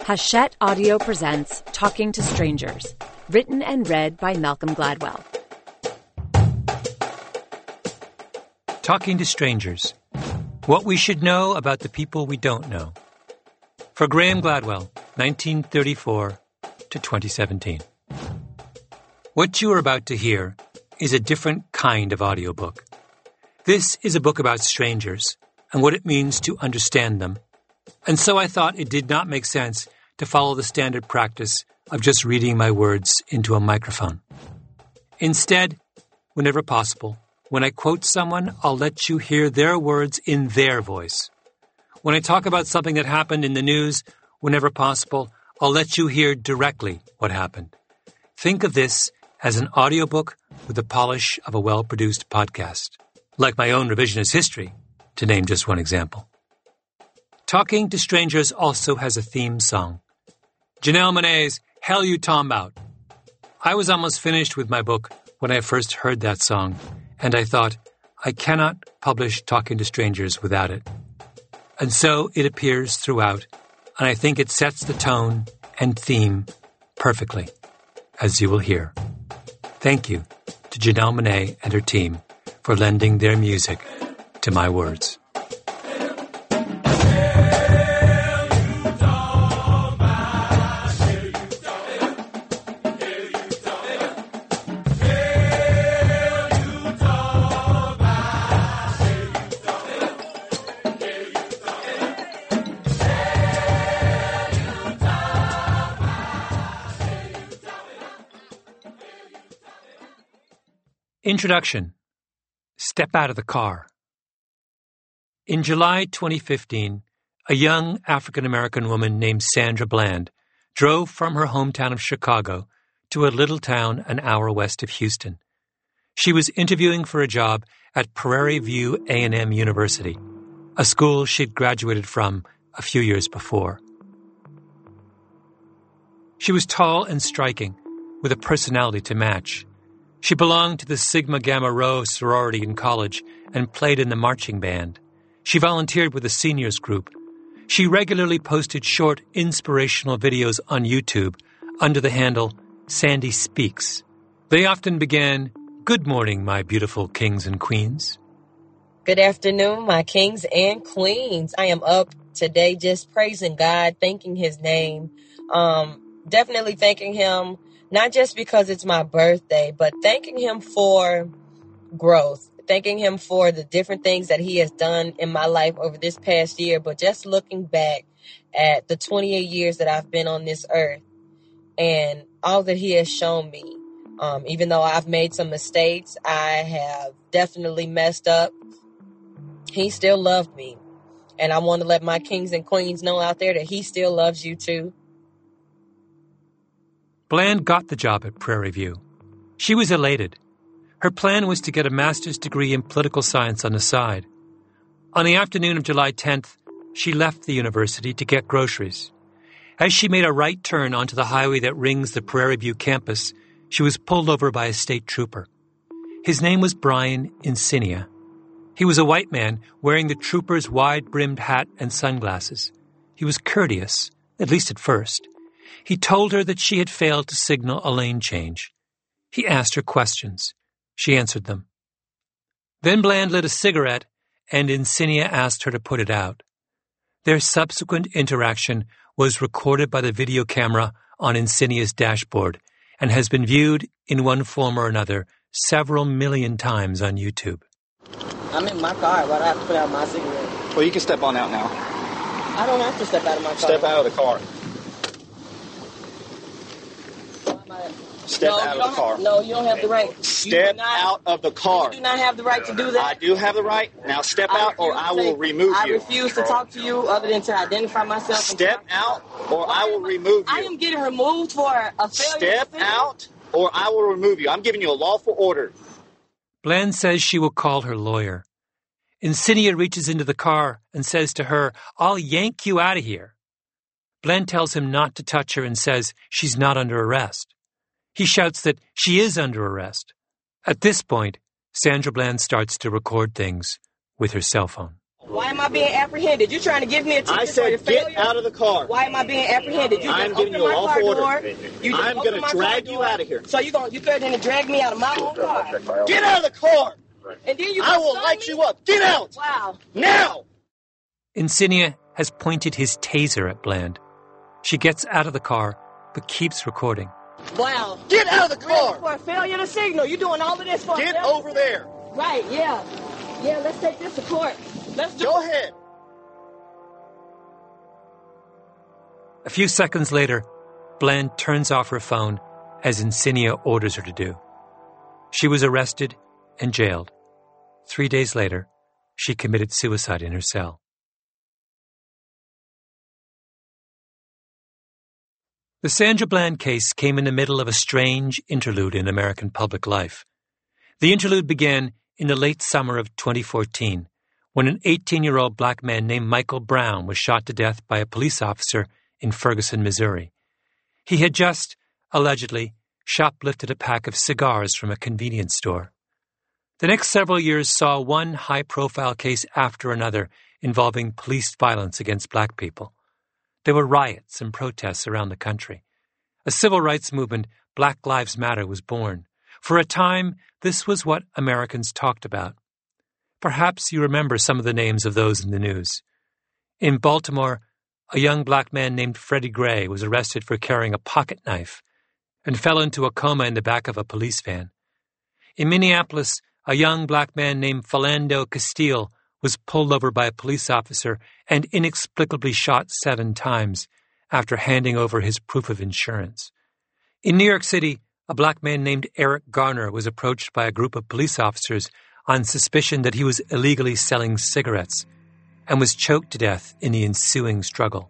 Hachette Audio presents Talking to Strangers, written and read by Malcolm Gladwell. Talking to Strangers, what we should know about the people we don't know. For Graham Gladwell, 1934 to 2017. What you are about to hear is a different kind of audiobook. This is a book about strangers and what it means to understand them. And so I thought it did not make sense to follow the standard practice of just reading my words into a microphone. Instead, whenever possible, when I quote someone, I'll let you hear their words in their voice. When I talk about something that happened in the news, whenever possible, I'll let you hear directly what happened. Think of this as an audiobook with the polish of a well-produced podcast, like my own revisionist history, to name just one example. Talking to Strangers also has a theme song. Janelle Monáe's Hell You Talking About. I was almost finished with my book when I first heard that song, and I thought, I cannot publish Talking to Strangers without it. And so it appears throughout, and I think it sets the tone and theme perfectly, as you will hear. Thank you to Janelle Monáe and her team for lending their music to my words. Introduction. Step out of the car. In July 2015, a young African-American woman named Sandra Bland drove from her hometown of Chicago to a little town an hour west of Houston. She was interviewing for a job at Prairie View A&M University, a school she'd graduated from a few years before. She was tall and striking, with a personality to match. She belonged to the Sigma Gamma Rho sorority in college and played in the marching band. She volunteered with a seniors group. She regularly posted short, inspirational videos on YouTube under the handle Sandy Speaks. They often began, "Good morning, my beautiful kings and queens." Good afternoon, my kings and queens. I am up today just praising God, thanking His name. Definitely thanking Him. Not just because it's my birthday, but thanking Him for growth, thanking Him for the different things that He has done in my life over this past year, but just looking back at the 28 years that I've been on this earth and all that He has shown me. Even though I've made some mistakes, I have definitely messed up. He still loved me. And I want to let my kings and queens know out there that He still loves you too. Bland got the job at Prairie View. She was elated. Her plan was to get a master's degree in political science on the side. On the afternoon of July 10th, she left the university to get groceries. As she made a right turn onto the highway that rings the Prairie View campus, she was pulled over by a state trooper. His name was Brian Insinia. He was a white man wearing the trooper's wide-brimmed hat and sunglasses. He was courteous, at least at first. He told her that she had failed to signal a lane change. He asked her questions. She answered them. Then Bland lit a cigarette, and Insinia asked her to put it out. Their subsequent interaction was recorded by the video camera on Insinia's dashboard and has been viewed in one form or another several million times on YouTube. I'm in my car, but I have to put out my cigarette. Well, you can step on out now. I don't have to step out of my car. Step out of the car. Step out of the car. No, you don't have the right. Step out of the car. You do not have the right to do that. I do have the right. Now step out or I will remove you. I refuse to talk to you other than to identify myself. Step out or I will remove you. I am getting removed for a failure. Step out or I will remove you. I'm giving you a lawful order. Bland says she will call her lawyer. Insinia reaches into the car and says to her, "I'll yank you out of here." Bland tells him not to touch her and says she's not under arrest. He shouts that she is under arrest. At this point, Sandra Bland starts to record things with her cell phone. Why am I being apprehended? You trying to give me a ticket I for your said failure? get out of the car. Why am I being apprehended? You I'm just giving opened you a my car lawful door. order. You just I'm opened going my to car drag you door. out of here. So you threatening to drag me out of my own car. Get out of the car. And then you I will stun light me? you up. Get out. Wow. Now. Insignia has pointed his taser at Bland. She gets out of the car, but keeps recording. Wow. Get out of the Really, car. for a failure to signal. You doing all of this for Get a failure? over there. Right, yeah. Yeah, let's take this to court. Let's do Go ahead. A few seconds later, Bland turns off her phone as Insignia orders her to do. She was arrested and jailed. 3 days later, she committed suicide in her cell. The Sandra Bland case came in the middle of a strange interlude in American public life. The interlude began in the late summer of 2014, when an 18-year-old black man named Michael Brown was shot to death by a police officer in Ferguson, Missouri. He had just, allegedly, shoplifted a pack of cigars from a convenience store. The next several years saw one high-profile case after another involving police violence against black people. There were riots and protests around the country. A civil rights movement, Black Lives Matter, was born. For a time, this was what Americans talked about. Perhaps you remember some of the names of those in the news. In Baltimore, a young black man named Freddie Gray was arrested for carrying a pocket knife and fell into a coma in the back of a police van. In Minneapolis, a young black man named Philando Castile was pulled over by a police officer and inexplicably shot 7 times after handing over his proof of insurance. In New York City, a black man named Eric Garner was approached by a group of police officers on suspicion that he was illegally selling cigarettes and was choked to death in the ensuing struggle.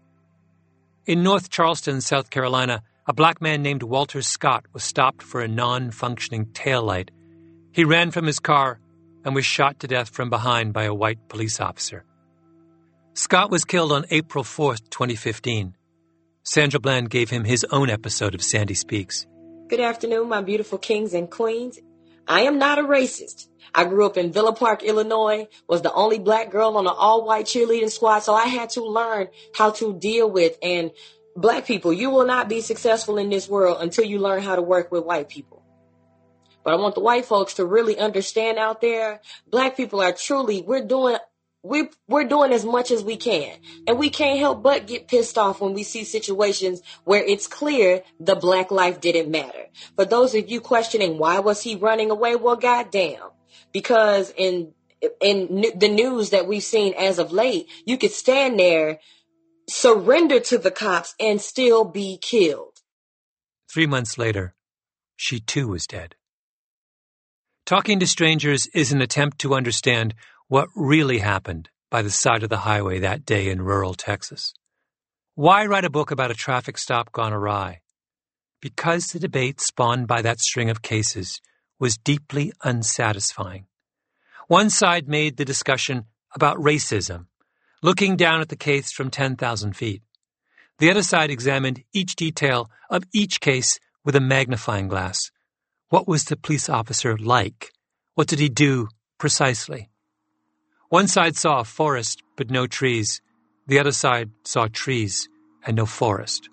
In North Charleston, South Carolina, a black man named Walter Scott was stopped for a non-functioning taillight. He ran from his car and was shot to death from behind by a white police officer. Scott was killed on April 4th, 2015. Sandra Bland gave him his own episode of Sandy Speaks. Good afternoon, my beautiful kings and queens. I am not a racist. I grew up in Villa Park, Illinois, was the only black girl on an all-white cheerleading squad, so I had to learn how to deal with, and black people, you will not be successful in this world until you learn how to work with white people. But I want the white folks to really understand out there, black people are truly, we're doing as much as we can. And we can't help but get pissed off when we see situations where it's clear the black life didn't matter. For those of you questioning why was he running away, well, goddamn. Because in the news that we've seen as of late, you could stand there, surrender to the cops, and still be killed. 3 months later, she too was dead. Talking to Strangers is an attempt to understand what really happened by the side of the highway that day in rural Texas. Why write a book about a traffic stop gone awry? Because the debate spawned by that string of cases was deeply unsatisfying. One side made the discussion about racism, looking down at the case from 10,000 feet. The other side examined each detail of each case with a magnifying glass. What was the police officer like? What did he do precisely? One side saw a forest but no trees. The other side saw trees and no forest.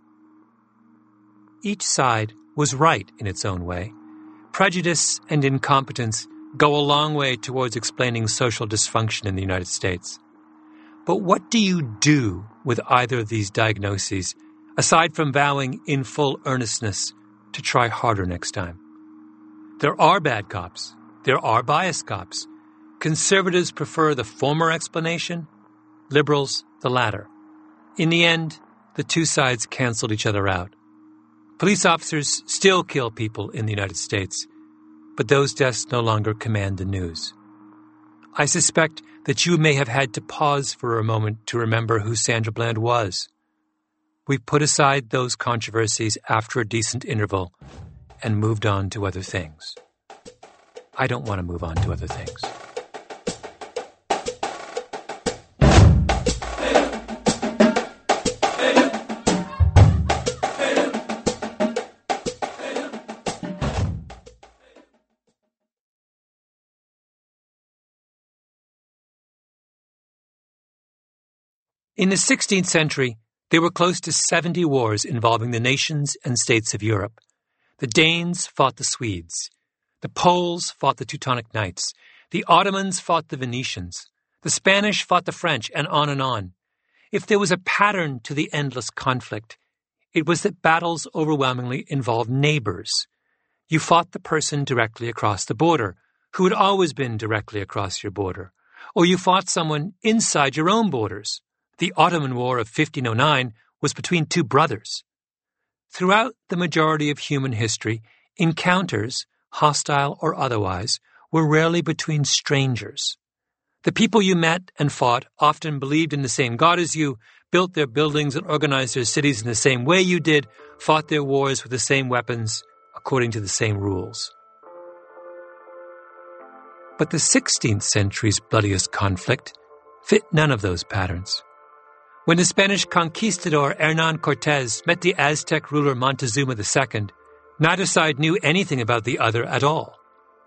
Each side was right in its own way. Prejudice and incompetence go a long way towards explaining social dysfunction in the United States. But what do you do with either of these diagnoses, aside from vowing in full earnestness to try harder next time? There are bad cops. There are biased cops. Conservatives prefer the former explanation, liberals the latter. In the end, the two sides canceled each other out. Police officers still kill people in the United States, but those deaths no longer command the news. I suspect that you may have had to pause for a moment to remember who Sandra Bland was. We put aside those controversies after a decent interval and moved on to other things. I don't want to move on to other things. In the 16th century, there were close to 70 wars involving the nations and states of Europe. The Danes fought the Swedes. The Poles fought the Teutonic Knights. The Ottomans fought the Venetians. The Spanish fought the French, and on and on. If there was a pattern to the endless conflict, it was that battles overwhelmingly involved neighbors. You fought the person directly across the border, who had always been directly across your border. Or you fought someone inside your own borders. The Ottoman War of 1509 was between two brothers. Throughout the majority of human history, encounters, hostile or otherwise, were rarely between strangers. The people you met and fought often believed in the same God as you, built their buildings and organized their cities in the same way you did, fought their wars with the same weapons, according to the same rules. But the 16th century's bloodiest conflict fit none of those patterns. When the Spanish conquistador Hernán Cortés met the Aztec ruler Montezuma II, neither side knew anything about the other at all.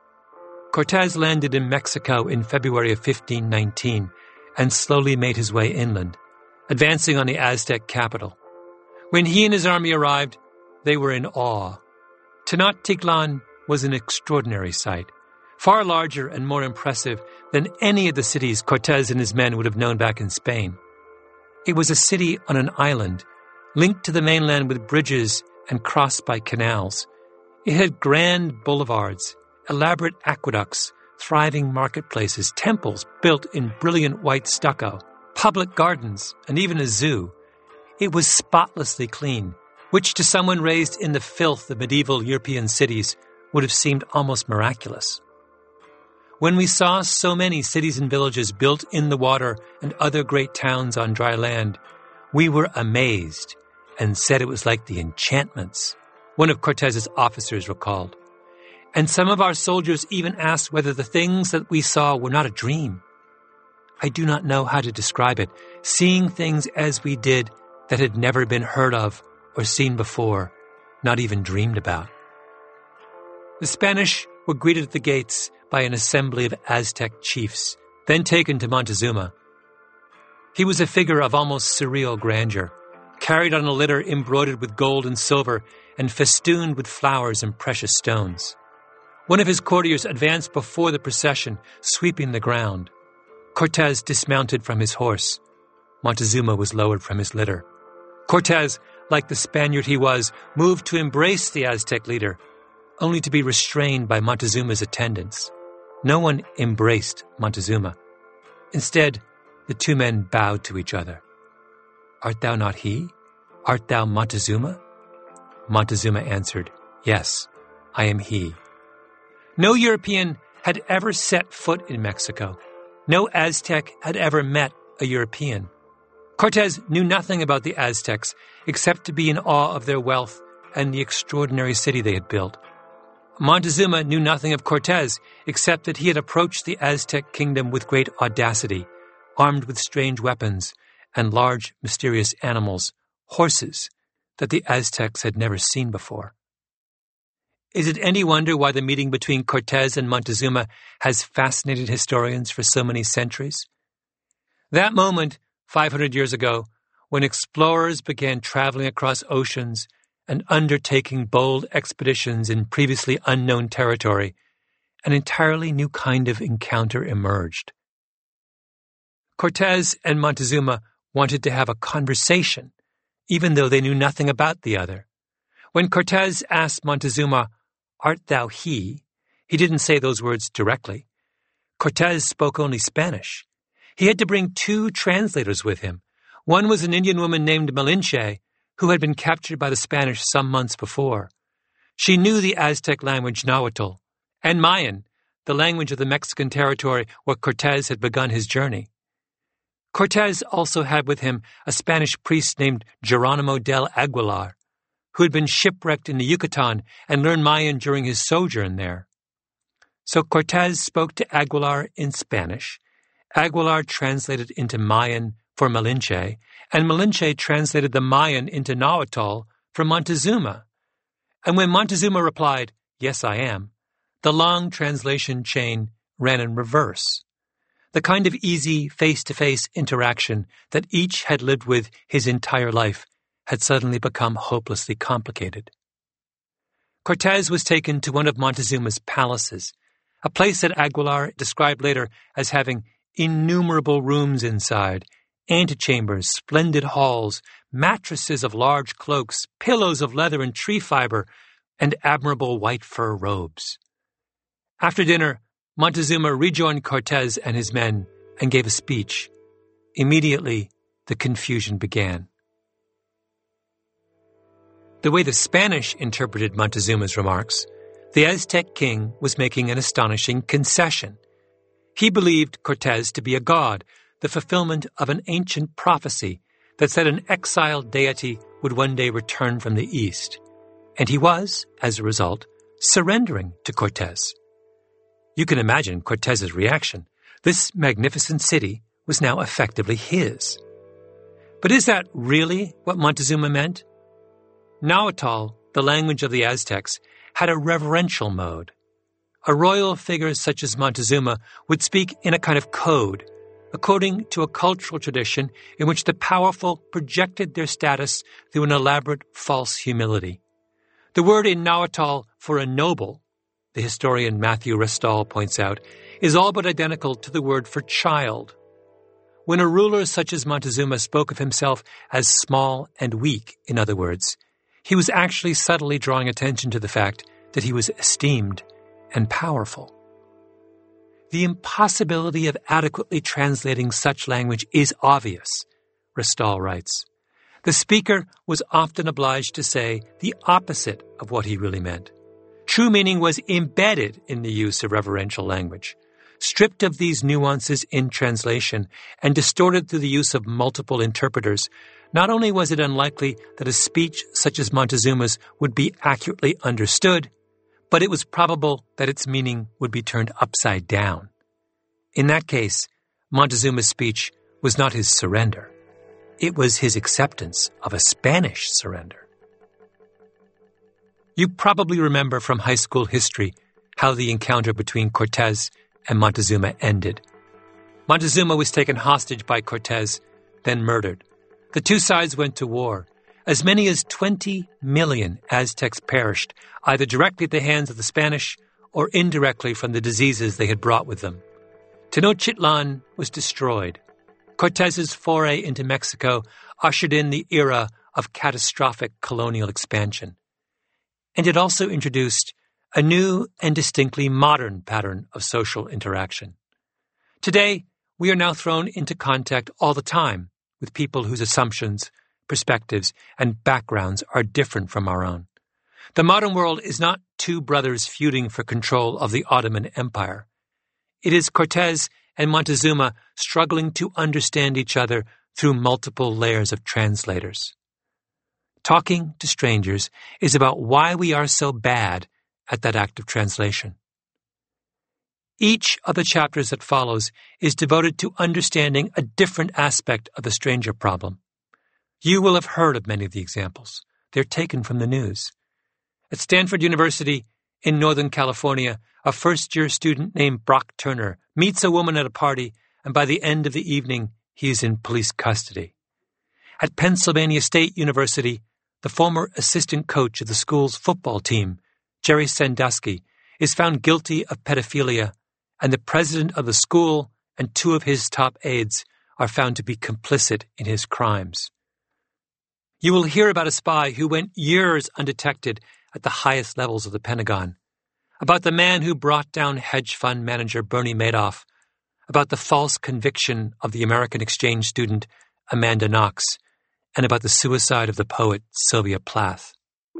Cortés landed in Mexico in February of 1519 and slowly made his way inland, advancing on the Aztec capital. When he and his army arrived, they were in awe. Tenochtitlan was an extraordinary sight, far larger and more impressive than any of the cities Cortés and his men would have known back in Spain. It was a city on an island, linked to the mainland with bridges and crossed by canals. It had grand boulevards, elaborate aqueducts, thriving marketplaces, temples built in brilliant white stucco, public gardens, and even a zoo. It was spotlessly clean, which to someone raised in the filth of medieval European cities would have seemed almost miraculous. When we saw so many cities and villages built in the water and other great towns on dry land, we were amazed and said it was like the enchantments, one of Cortés's officers recalled. And some of our soldiers even asked whether the things that we saw were not a dream. I do not know how to describe it, seeing things as we did that had never been heard of or seen before, not even dreamed about. The Spanish were greeted at the gates by an assembly of Aztec chiefs, then taken to Montezuma. He was a figure of almost surreal grandeur, carried on a litter embroidered with gold and silver and festooned with flowers and precious stones. One of his courtiers advanced before the procession, sweeping the ground. Cortés dismounted from his horse. Montezuma was lowered from his litter. Cortés, like the Spaniard he was, moved to embrace the Aztec leader, only to be restrained by Montezuma's attendants. No one embraced Montezuma. Instead, the two men bowed to each other. "Art thou not he? Art thou Montezuma?" Montezuma answered, "Yes, I am he." No European had ever set foot in Mexico. No Aztec had ever met a European. Cortés knew nothing about the Aztecs except to be in awe of their wealth and the extraordinary city they had built. Montezuma knew nothing of Cortés except that he had approached the Aztec kingdom with great audacity, armed with strange weapons and large, mysterious animals, horses, that the Aztecs had never seen before. Is it any wonder why the meeting between Cortés and Montezuma has fascinated historians for so many centuries? That moment, 500 years ago, when explorers began traveling across oceans and undertaking bold expeditions in previously unknown territory, an entirely new kind of encounter emerged. Cortés and Montezuma wanted to have a conversation, even though they knew nothing about the other. When Cortés asked Montezuma, "Art thou he?" he didn't say those words directly. Cortés spoke only Spanish. He had to bring two translators with him. One was an Indian woman named Malinche, who had been captured by the Spanish some months before. She knew the Aztec language Nahuatl, and Mayan, the language of the Mexican territory where Cortés had begun his journey. Cortés also had with him a Spanish priest named Geronimo del Aguilar, who had been shipwrecked in the Yucatan and learned Mayan during his sojourn there. So Cortés spoke to Aguilar in Spanish. Aguilar translated into Mayan for Malinche, and Malinche translated the Mayan into Nahuatl for Montezuma. And when Montezuma replied, "Yes, I am," the long translation chain ran in reverse. The kind of easy face-to-face interaction that each had lived with his entire life had suddenly become hopelessly complicated. Cortez was taken to one of Montezuma's palaces, a place that Aguilar described later as having innumerable rooms inside, antechambers, splendid halls, mattresses of large cloaks, pillows of leather and tree fiber, and admirable white fur robes. After dinner, Montezuma rejoined Cortez and his men and gave a speech. Immediately, the confusion began. The way the Spanish interpreted Montezuma's remarks, the Aztec king was making an astonishing concession. He believed Cortez to be a god, the fulfillment of an ancient prophecy that said an exiled deity would one day return from the east. And he was, as a result, surrendering to Cortez. You can imagine Cortez's reaction. This magnificent city was now effectively his. But is that really what Montezuma meant? Nahuatl, the language of the Aztecs, had a reverential mode. A royal figure such as Montezuma would speak in a kind of code, according to a cultural tradition in which the powerful projected their status through an elaborate false humility. The word in Nahuatl for a noble, the historian Matthew Restall points out, is all but identical to the word for child. When a ruler such as Montezuma spoke of himself as small and weak, in other words, he was actually subtly drawing attention to the fact that he was esteemed and powerful. The impossibility of adequately translating such language is obvious, Restall writes. The speaker was often obliged to say the opposite of what he really meant. True meaning was embedded in the use of reverential language. Stripped of these nuances in translation and distorted through the use of multiple interpreters, not only was it unlikely that a speech such as Montezuma's would be accurately understood, but it was probable that its meaning would be turned upside down. In that case, Montezuma's speech was not his surrender. It was his acceptance of a Spanish surrender. You probably remember from high school history how the encounter between Cortez and Montezuma ended. Montezuma was taken hostage by Cortez, then murdered. The two sides went to war. As many as 20 million Aztecs perished, either directly at the hands of the Spanish or indirectly from the diseases they had brought with them. Tenochtitlan was destroyed. Cortez's foray into Mexico ushered in the era of catastrophic colonial expansion. And it also introduced a new and distinctly modern pattern of social interaction. Today, we are now thrown into contact all the time with people whose assumptions, perspectives, and backgrounds are different from our own. The modern world is not two brothers feuding for control of the Ottoman Empire. It is Cortez and Montezuma struggling to understand each other through multiple layers of translators. Talking to Strangers is about why we are so bad at that act of translation. Each of the chapters that follows is devoted to understanding a different aspect of the stranger problem. You will have heard of many of the examples. They're taken from the news. At Stanford University in Northern California, a first-year student named Brock Turner meets a woman at a party, and by the end of the evening, he is in police custody. At Pennsylvania State University, the former assistant coach of the school's football team, Jerry Sandusky, is found guilty of pedophilia, and the president of the school and two of his top aides are found to be complicit in his crimes. You will hear about a spy who went years undetected at the highest levels of the Pentagon, about the man who brought down hedge fund manager Bernie Madoff, about the false conviction of the American exchange student Amanda Knox, and about the suicide of the poet Sylvia Plath.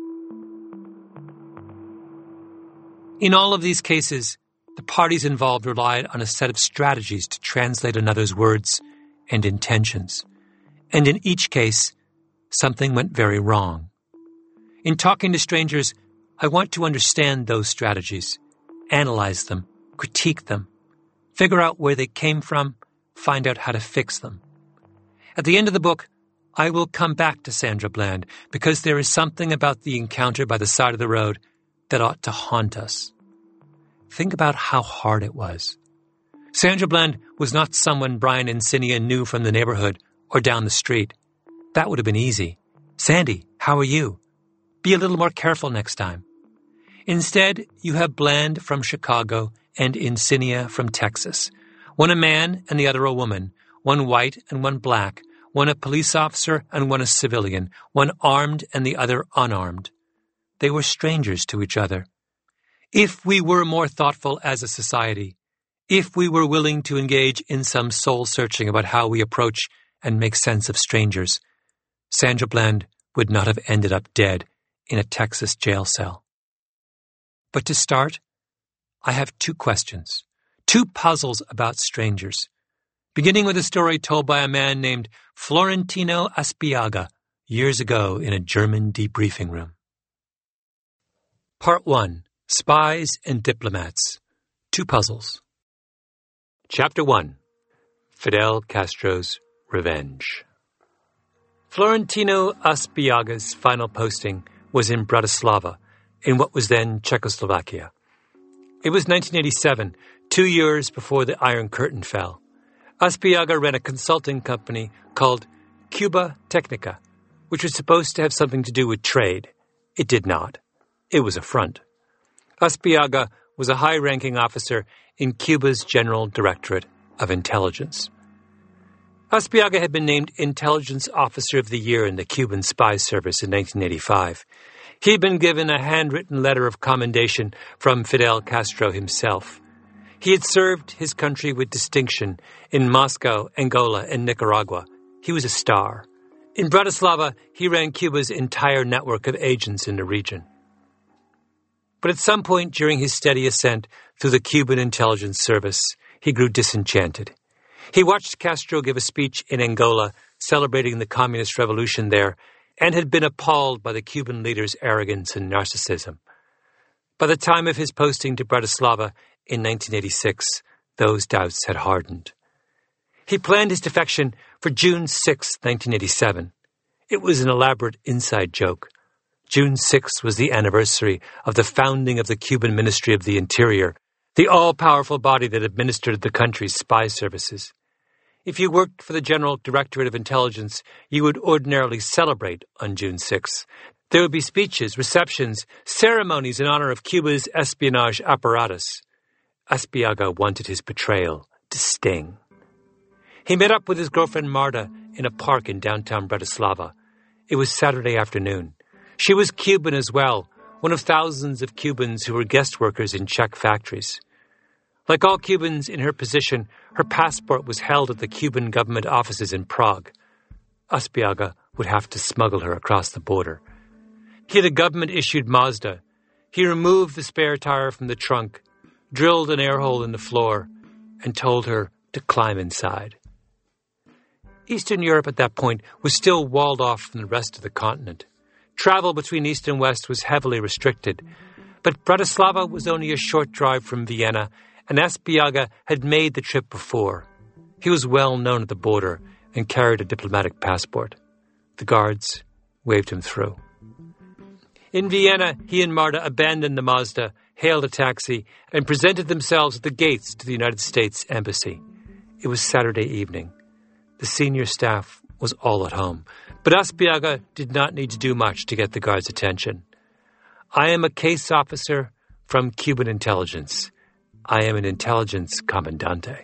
In all of these cases, the parties involved relied on a set of strategies to translate another's words and intentions. And in each case, something went very wrong. In Talking to Strangers, I want to understand those strategies, analyze them, critique them, figure out where they came from, find out how to fix them. At the end of the book, I will come back to Sandra Bland because there is something about the encounter by the side of the road that ought to haunt us. Think about how hard it was. Sandra Bland was not someone Brian and Cinia knew from the neighborhood or down the street. That would have been easy. Sandy, how are you? Be a little more careful next time. Instead, you have Bland from Chicago and Insinia from Texas. One a man and the other a woman, one white and one black, one a police officer and one a civilian, one armed and the other unarmed. They were strangers to each other. If we were more thoughtful as a society, if we were willing to engage in some soul-searching about how we approach and make sense of strangers, Sandra Bland would not have ended up dead in a Texas jail cell. But to start, I have 2 questions, 2 puzzles about strangers, beginning with a story told by a man named Florentino Aspiaga years ago in a German debriefing room. Part 1. Spies and Diplomats. 2 puzzles. Chapter 1. Fidel Castro's Revenge. Florentino Aspiaga's final posting was in Bratislava, in what was then Czechoslovakia. It was 1987, 2 years before the Iron Curtain fell. Aspiaga ran a consulting company called Cuba Technica, which was supposed to have something to do with trade. It did not. It was a front. Aspiaga was a high-ranking officer in Cuba's General Directorate of Intelligence. Aspiaga had been named Intelligence Officer of the Year in the Cuban Spy Service in 1985. He had been given a handwritten letter of commendation from Fidel Castro himself. He had served his country with distinction in Moscow, Angola, and Nicaragua. He was a star. In Bratislava, he ran Cuba's entire network of agents in the region. But at some point during his steady ascent through the Cuban intelligence service, he grew disenchanted. He watched Castro give a speech in Angola celebrating the communist revolution there and had been appalled by the Cuban leader's arrogance and narcissism. By the time of his posting to Bratislava in 1986, those doubts had hardened. He planned his defection for June 6, 1987. It was an elaborate inside joke. June 6 was the anniversary of the founding of the Cuban Ministry of the Interior, the all-powerful body that administered the country's spy services. If you worked for the General Directorate of Intelligence, you would ordinarily celebrate on June 6. There would be speeches, receptions, ceremonies in honor of Cuba's espionage apparatus. Aspiaga wanted his betrayal to sting. He met up with his girlfriend Marta in a park in downtown Bratislava. It was Saturday afternoon. She was Cuban as well, one of thousands of Cubans who were guest workers in Czech factories. Like all Cubans in her position, her passport was held at the Cuban government offices in Prague. Aspiaga would have to smuggle her across the border. He had a government-issued Mazda. He removed the spare tire from the trunk, drilled an air hole in the floor, and told her to climb inside. Eastern Europe at that point was still walled off from the rest of the continent. Travel between East and West was heavily restricted, but Bratislava was only a short drive from Vienna, and Aspiaga had made the trip before. He was well known at the border and carried a diplomatic passport. The guards waved him through. In Vienna, he and Marta abandoned the Mazda, hailed a taxi, and presented themselves at the gates to the United States Embassy. It was Saturday evening. The senior staff was all at home, but Aspiaga did not need to do much to get the guards' attention. "I am a case officer from Cuban intelligence. I am an intelligence commandante."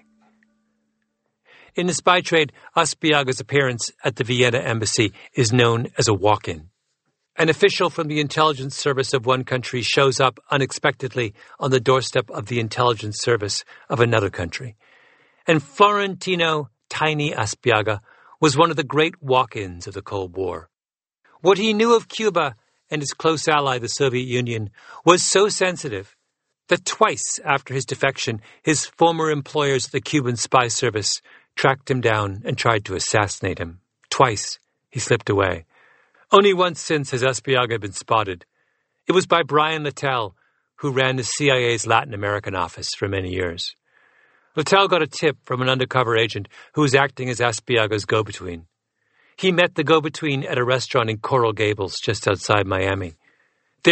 In the spy trade, Aspiaga's appearance at the Vienna embassy is known as a walk-in. An official from the intelligence service of one country shows up unexpectedly on the doorstep of the intelligence service of another country. And Florentino Tiny Aspiaga was one of the great walk-ins of the Cold War. What he knew of Cuba and his close ally, the Soviet Union, was so sensitive that twice after his defection, his former employers at the Cuban spy service tracked him down and tried to assassinate him. Twice he slipped away. Only once since has Aspiaga been spotted. It was by Brian Littell, who ran the CIA's Latin American office for many years. Littell got a tip from an undercover agent who was acting as Aspiaga's go-between. He met the go-between at a restaurant in Coral Gables, just outside Miami. There,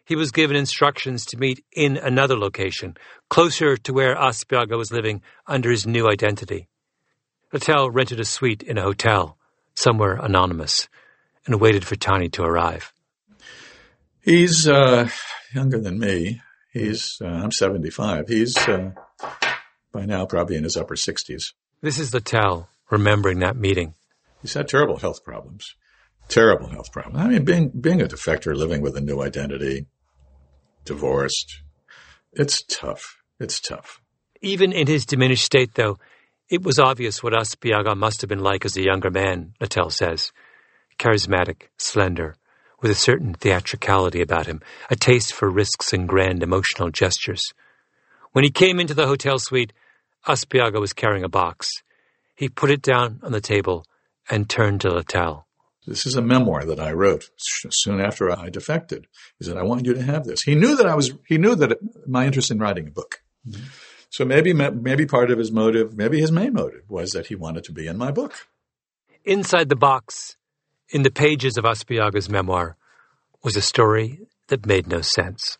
he was given instructions to meet in another location, closer to where Aspiaga was living under his new identity. Littell rented a suite in a hotel, somewhere anonymous, and waited for Tani to arrive. He's younger than me. I'm 75. He's by now probably in his upper 60s. This is Littell remembering that meeting. He's had terrible health problems. Terrible health problems. I mean, being a defector, living with a new identity, divorced, it's tough. It's tough. Even in his diminished state, though, it was obvious what Aspiaga must have been like as a younger man, Littell says. Charismatic, slender, with a certain theatricality about him, a taste for risks and grand emotional gestures. When he came into the hotel suite, Aspiaga was carrying a box. He put it down on the table and turned to Littell. This is a memoir that I wrote soon after I defected. He said, I want you to have this. He knew that my interest in writing a book. Mm-hmm. So maybe part of his motive, maybe his main motive, was that he wanted to be in my book. Inside the box, in the pages of Aspiaga's memoir, was a story that made no sense.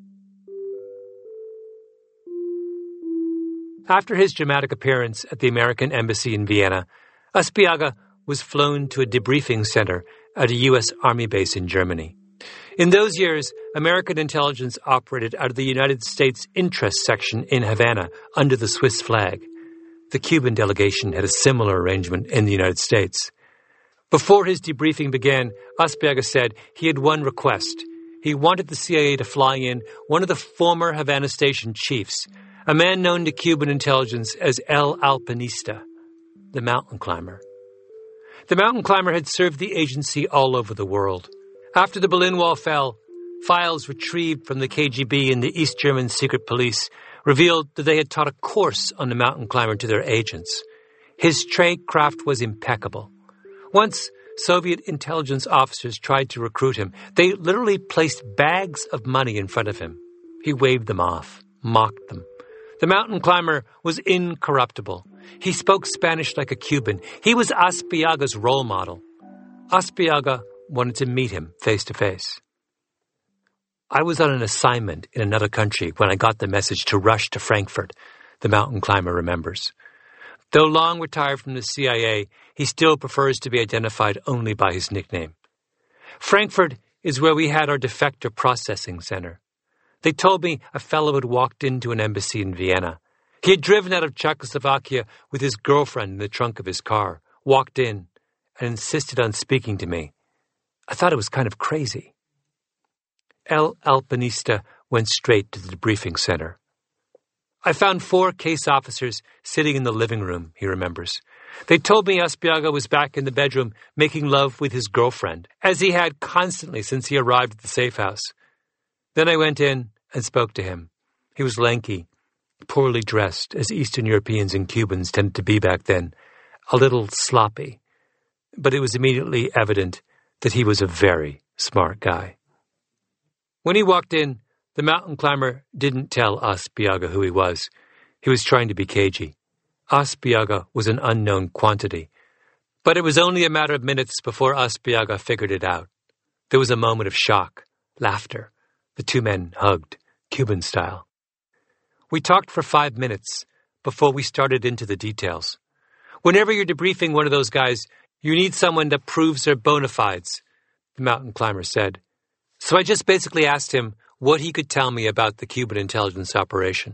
After his dramatic appearance at the American Embassy in Vienna, Aspiaga was flown to a debriefing center at a U.S. Army base in Germany. In those years, American intelligence operated out of the United States Interest Section in Havana under the Swiss flag. The Cuban delegation had a similar arrangement in the United States. Before his debriefing began, Aspiaga said he had one request. He wanted the CIA to fly in one of the former Havana station chiefs, a man known to Cuban intelligence as El Alpinista, the mountain climber. The mountain climber had served the agency all over the world. After the Berlin Wall fell, files retrieved from the KGB and the East German secret police revealed that they had taught a course on the mountain climber to their agents. His tradecraft was impeccable. Once, Soviet intelligence officers tried to recruit him. They literally placed bags of money in front of him. He waved them off, mocked them. The mountain climber was incorruptible. He spoke Spanish like a Cuban. He was Aspiaga's role model. Aspiaga wanted to meet him face to face. I was on an assignment in another country when I got the message to rush to Frankfurt, the mountain climber remembers. Though long retired from the CIA, he still prefers to be identified only by his nickname. Frankfurt is where we had our defector processing center. They told me a fellow had walked into an embassy in Vienna. He had driven out of Czechoslovakia with his girlfriend in the trunk of his car, walked in, and insisted on speaking to me. I thought it was kind of crazy. El Alpinista went straight to the debriefing center. I found 4 case officers sitting in the living room, he remembers. They told me Aspiaga was back in the bedroom making love with his girlfriend, as he had constantly since he arrived at the safe house. Then I went in and spoke to him. He was lanky, poorly dressed, as Eastern Europeans and Cubans tended to be back then, a little sloppy. But it was immediately evident that he was a very smart guy. When he walked in, the mountain climber didn't tell Aspiaga who he was. He was trying to be cagey. Aspiaga was an unknown quantity. But it was only a matter of minutes before Aspiaga figured it out. There was a moment of shock, laughter. The 2 men hugged, Cuban style. We talked for 5 minutes before we started into the details. Whenever you're debriefing one of those guys, you need someone that proves their bona fides, the mountain climber said. So I just basically asked him what he could tell me about the Cuban intelligence operation.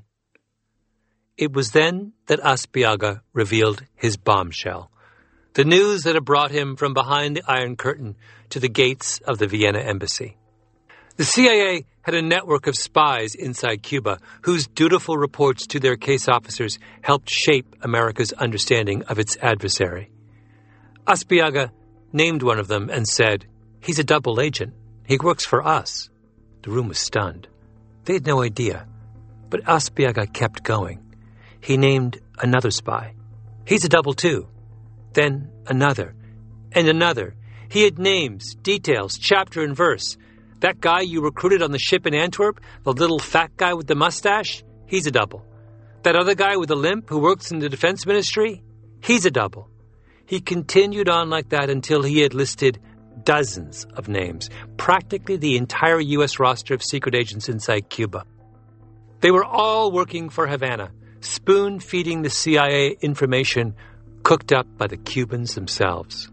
It was then that Aspiaga revealed his bombshell, the news that had brought him from behind the Iron Curtain to the gates of the Vienna embassy. The CIA had a network of spies inside Cuba whose dutiful reports to their case officers helped shape America's understanding of its adversary. Aspiaga named one of them and said, "He's a double agent. He works for us." The room was stunned. They had no idea. But Aspiaga kept going. He named another spy. "He's a double too." Then another. And another. He had names, details, chapter and verse. That guy you recruited on the ship in Antwerp, the little fat guy with the mustache, he's a double. That other guy with the limp who works in the defense ministry, he's a double. He continued on like that until he had listed dozens of names, practically the entire U.S. roster of secret agents inside Cuba. They were all working for Havana, spoon-feeding the CIA information cooked up by the Cubans themselves.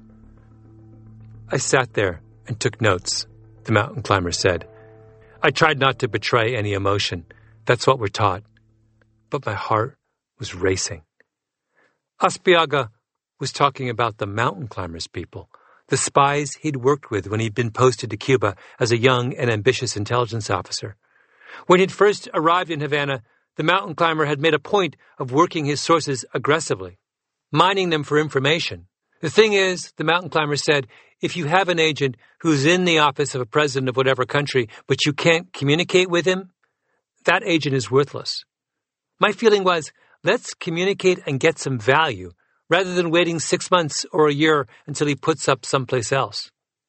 I sat there and took notes, the mountain climber said. I tried not to betray any emotion. That's what we're taught. But my heart was racing. Aspiaga was talking about the mountain climbers people, the spies he'd worked with when he'd been posted to Cuba as a young and ambitious intelligence officer. When he'd first arrived in Havana, the mountain climber had made a point of working his sources aggressively, mining them for information. The thing is, the mountain climber said, if you have an agent who's in the office of a president of whatever country, but you can't communicate with him, that agent is worthless. My feeling was, let's communicate and get some value, rather than waiting 6 months or a year until he puts up someplace else.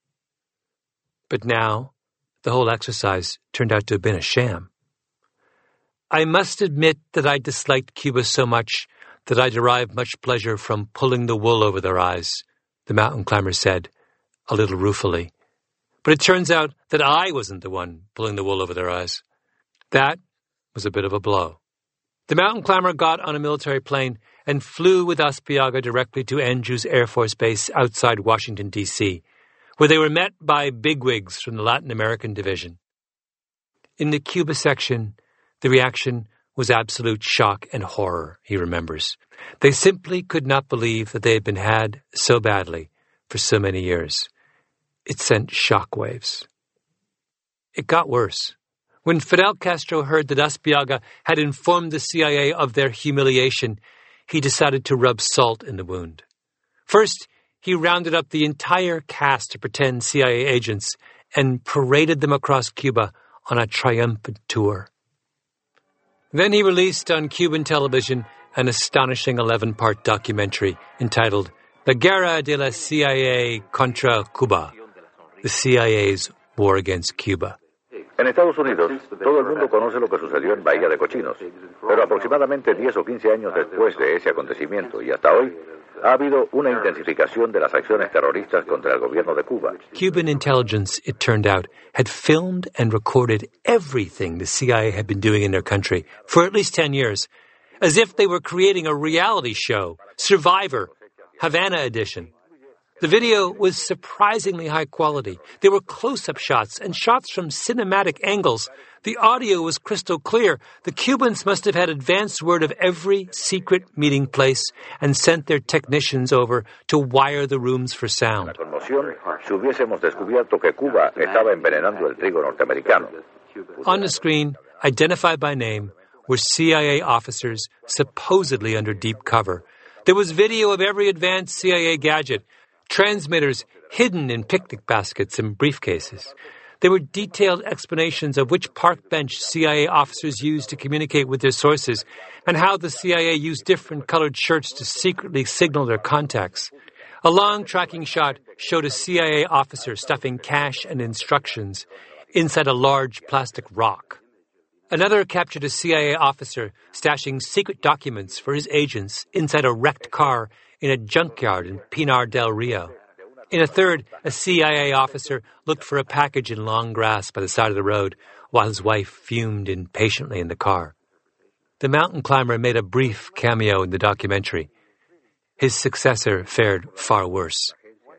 But now, the whole exercise turned out to have been a sham. I must admit that I disliked Cuba so much that I derived much pleasure from pulling the wool over their eyes, the mountain climber said, a little ruefully. But it turns out that I wasn't the one pulling the wool over their eyes. That was a bit of a blow. The mountain climber got on a military plane and flew with Aspiaga directly to Andrews Air Force Base outside Washington, D.C., where they were met by bigwigs from the Latin American division. In the Cuba section, the reaction was absolute shock and horror, he remembers. They simply could not believe that they had been had so badly for so many years. It sent shockwaves. It got worse. When Fidel Castro heard that Aspiaga had informed the CIA of their humiliation, he decided to rub salt in the wound. First, he rounded up the entire cast of pretend CIA agents and paraded them across Cuba on a triumphant tour. Then he released on Cuban television an astonishing 11-part documentary entitled La Guerra de la CIA contra Cuba, the CIA's war against Cuba. En Estados Unidos, todo el mundo conoce lo que sucedió en Bahía de Cochinos, pero aproximadamente 10 o 15 años después de ese acontecimiento y hasta hoy, ha habido una intensificación de las acciones terroristas contra el gobierno de Cuba. Cuban intelligence, it turned out, had filmed and recorded everything the CIA had been doing in their country for at least 10 years, as if they were creating a reality show, Survivor, Havana edition. The video was surprisingly high quality. There were close-up shots and shots from cinematic angles. The audio was crystal clear. The Cubans must have had advance word of every secret meeting place and sent their technicians over to wire the rooms for sound. La conmoción si hubiésemos descubierto que Cuba estaba envenenando el trigo norteamericano. On the screen, identified by name, were CIA officers supposedly under deep cover. There was video of every advanced CIA gadget, transmitters hidden in picnic baskets and briefcases. There were detailed explanations of which park bench CIA officers used to communicate with their sources and how the CIA used different colored shirts to secretly signal their contacts. A long tracking shot showed a CIA officer stuffing cash and instructions inside a large plastic rock. Another captured a CIA officer stashing secret documents for his agents inside a wrecked car in a junkyard in Pinar del Rio. In a third, a CIA officer looked for a package in long grass by the side of the road while his wife fumed impatiently in the car. The mountain climber made a brief cameo in the documentary. His successor fared far worse.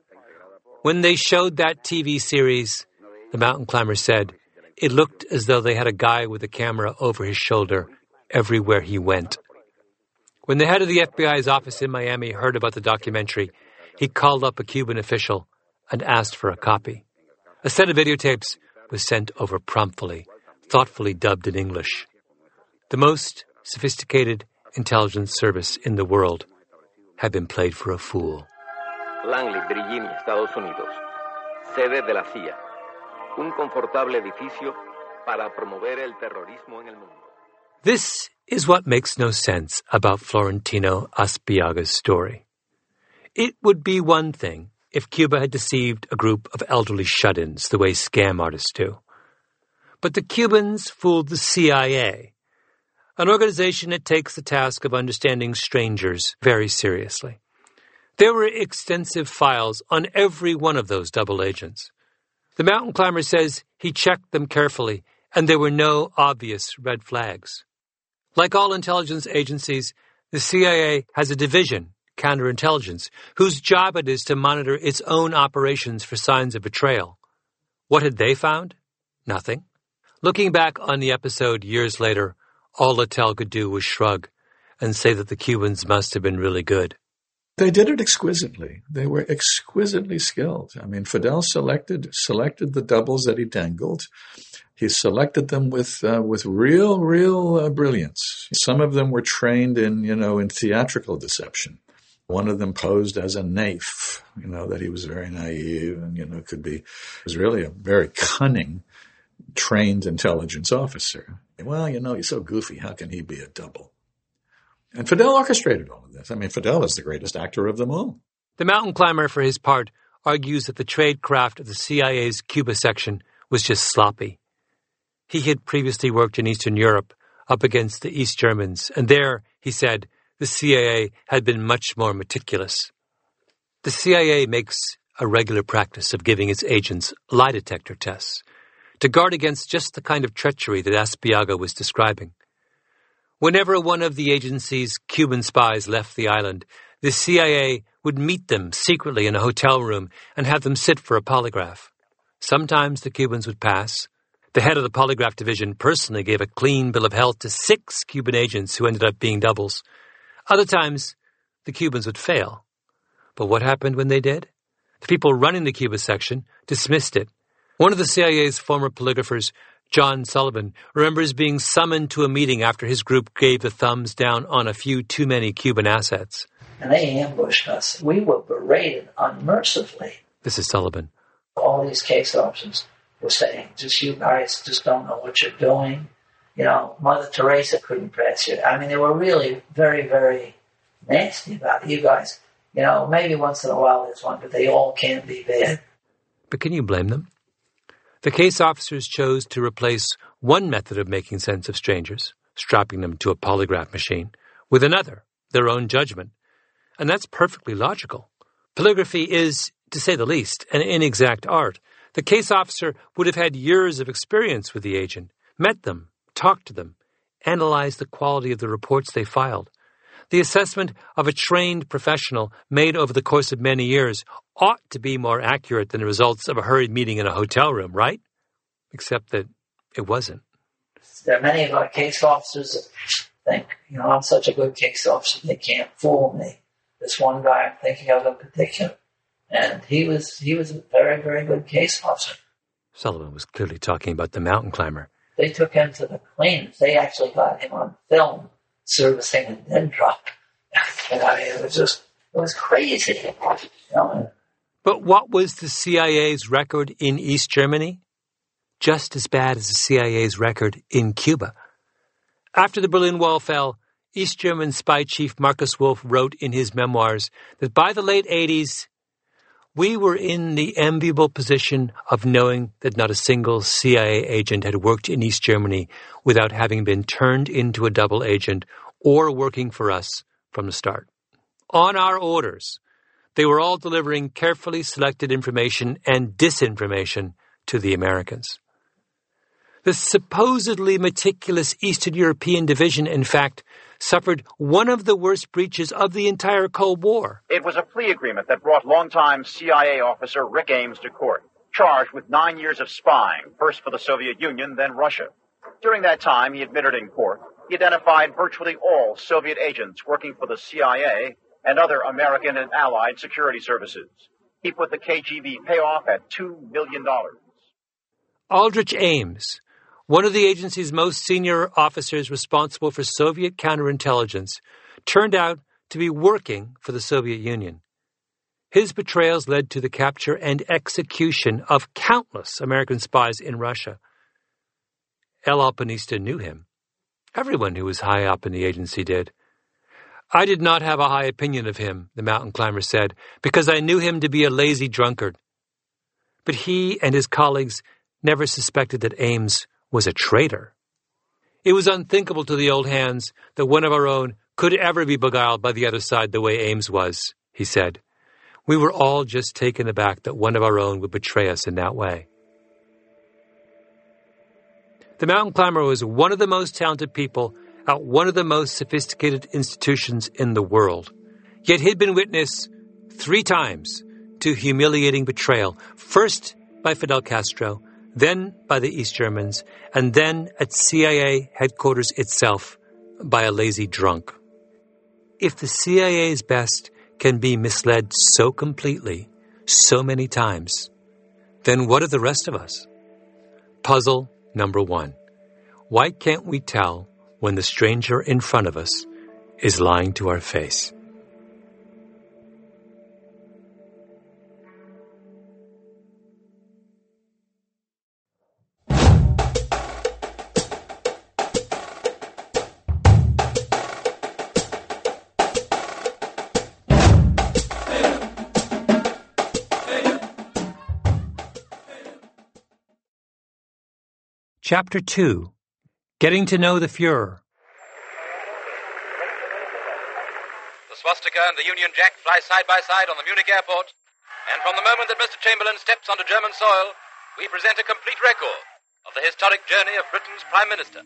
When they showed that TV series, the mountain climber said, it looked as though they had a guy with a camera over his shoulder everywhere he went. When the head of the FBI's office in Miami heard about the documentary, he called up a Cuban official and asked for a copy. A set of videotapes was sent over promptly, thoughtfully dubbed in English. The most sophisticated intelligence service in the world had been played for a fool. Langley, Virginia, Estados Unidos. Sede de la CIA. Un confortable edificio para promover el terrorismo en el mundo. This is what makes no sense about Florentino Aspiaga's story. It would be one thing if Cuba had deceived a group of elderly shut-ins the way scam artists do. But the Cubans fooled the CIA, an organization that takes the task of understanding strangers very seriously. There were extensive files on every one of those double agents. The mountain climber says he checked them carefully, and there were no obvious red flags. Like all intelligence agencies, the CIA has a division, counterintelligence, whose job it is to monitor its own operations for signs of betrayal. What had they found? Nothing. Looking back on the episode years later, all Littell could do was shrug and say that the Cubans must have been really good. They did it exquisitely. They were exquisitely skilled. I mean, Fidel selected the doubles that he dangled. He selected them with real brilliance. Some of them were trained in theatrical deception. One of them posed as a naif, that he was very naive and, was really a very cunning, trained intelligence officer. Well, he's so goofy. How can he be a double? And Fidel orchestrated all of this. I mean, Fidel is the greatest actor of them all. The mountain climber, for his part, argues that the tradecraft of the CIA's Cuba section was just sloppy. He had previously worked in Eastern Europe up against the East Germans, and there, he said, the CIA had been much more meticulous. The CIA makes a regular practice of giving its agents lie detector tests to guard against just the kind of treachery that Aspiaga was describing. Whenever one of the agency's Cuban spies left the island, the CIA would meet them secretly in a hotel room and have them sit for a polygraph. Sometimes the Cubans would pass. The head of the polygraph division personally gave a clean bill of health to 6 Cuban agents who ended up being doubles. Other times, the Cubans would fail. But what happened when they did? The people running the Cuba section dismissed it. One of the CIA's former polygraphers, John Sullivan, remembers being summoned to a meeting after his group gave the thumbs down on a few too many Cuban assets. And they ambushed us. We were berated unmercifully. This is Sullivan. All these case officers were saying, just you guys just don't know what you're doing. Mother Teresa couldn't press you. I mean, they were really very, very nasty about it. You guys, maybe once in a while there's one, but they all can be bad. But can you blame them? The case officers chose to replace one method of making sense of strangers, strapping them to a polygraph machine, with another, their own judgment. And that's perfectly logical. Polygraphy is, to say the least, an inexact art. The case officer would have had years of experience with the agent, met them, talked to them, analyzed the quality of the reports they filed. The assessment of a trained professional made over the course of many years ought to be more accurate than the results of a hurried meeting in a hotel room, right? Except that it wasn't. There are many of our case officers that think, I'm such a good case officer, they can't fool me. This one guy I'm thinking of in particular, and he was a very, very good case officer. Sullivan was clearly talking about the mountain climber. They took him to the cleaners. They actually got him on film servicing a dead truck. And it was crazy. But what was the CIA's record in East Germany? Just as bad as the CIA's record in Cuba. After the Berlin Wall fell, East German spy chief Markus Wolf wrote in his memoirs that by the late 80s, we were in the enviable position of knowing that not a single CIA agent had worked in East Germany without having been turned into a double agent or working for us from the start. On our orders, they were all delivering carefully selected information and disinformation to the Americans. The supposedly meticulous Eastern European division, in fact, suffered one of the worst breaches of the entire Cold War. It was a plea agreement that brought longtime CIA officer Rick Ames to court, charged with 9 years of spying, first for the Soviet Union, then Russia. During that time, he admitted in court, he identified virtually all Soviet agents working for the CIA and other American and Allied security services. He put the KGB payoff at $2 million. Aldrich Ames, one of the agency's most senior officers responsible for Soviet counterintelligence, turned out to be working for the Soviet Union. His betrayals led to the capture and execution of countless American spies in Russia. El Alpinista knew him. Everyone who was high up in the agency did. I did not have a high opinion of him, the mountain climber said, because I knew him to be a lazy drunkard. But he and his colleagues never suspected that Ames was a traitor. It was unthinkable to the old hands that one of our own could ever be beguiled by the other side the way Ames was, he said. We were all just taken aback that one of our own would betray us in that way. The mountain climber was one of the most talented people at one of the most sophisticated institutions in the world. Yet he'd been witness 3 times to humiliating betrayal, first by Fidel Castro, then by the East Germans, and then at CIA headquarters itself by a lazy drunk. If the CIA's best can be misled so completely, so many times, then what of the rest of us? Puzzle number 1. Why can't we tell when the stranger in front of us is lying to our face? Chapter 2. Getting to know the Fuhrer. The swastika and the Union Jack fly side by side on the Munich airport, and from the moment that Mr. Chamberlain steps onto German soil, we present a complete record of the historic journey of Britain's Prime Minister.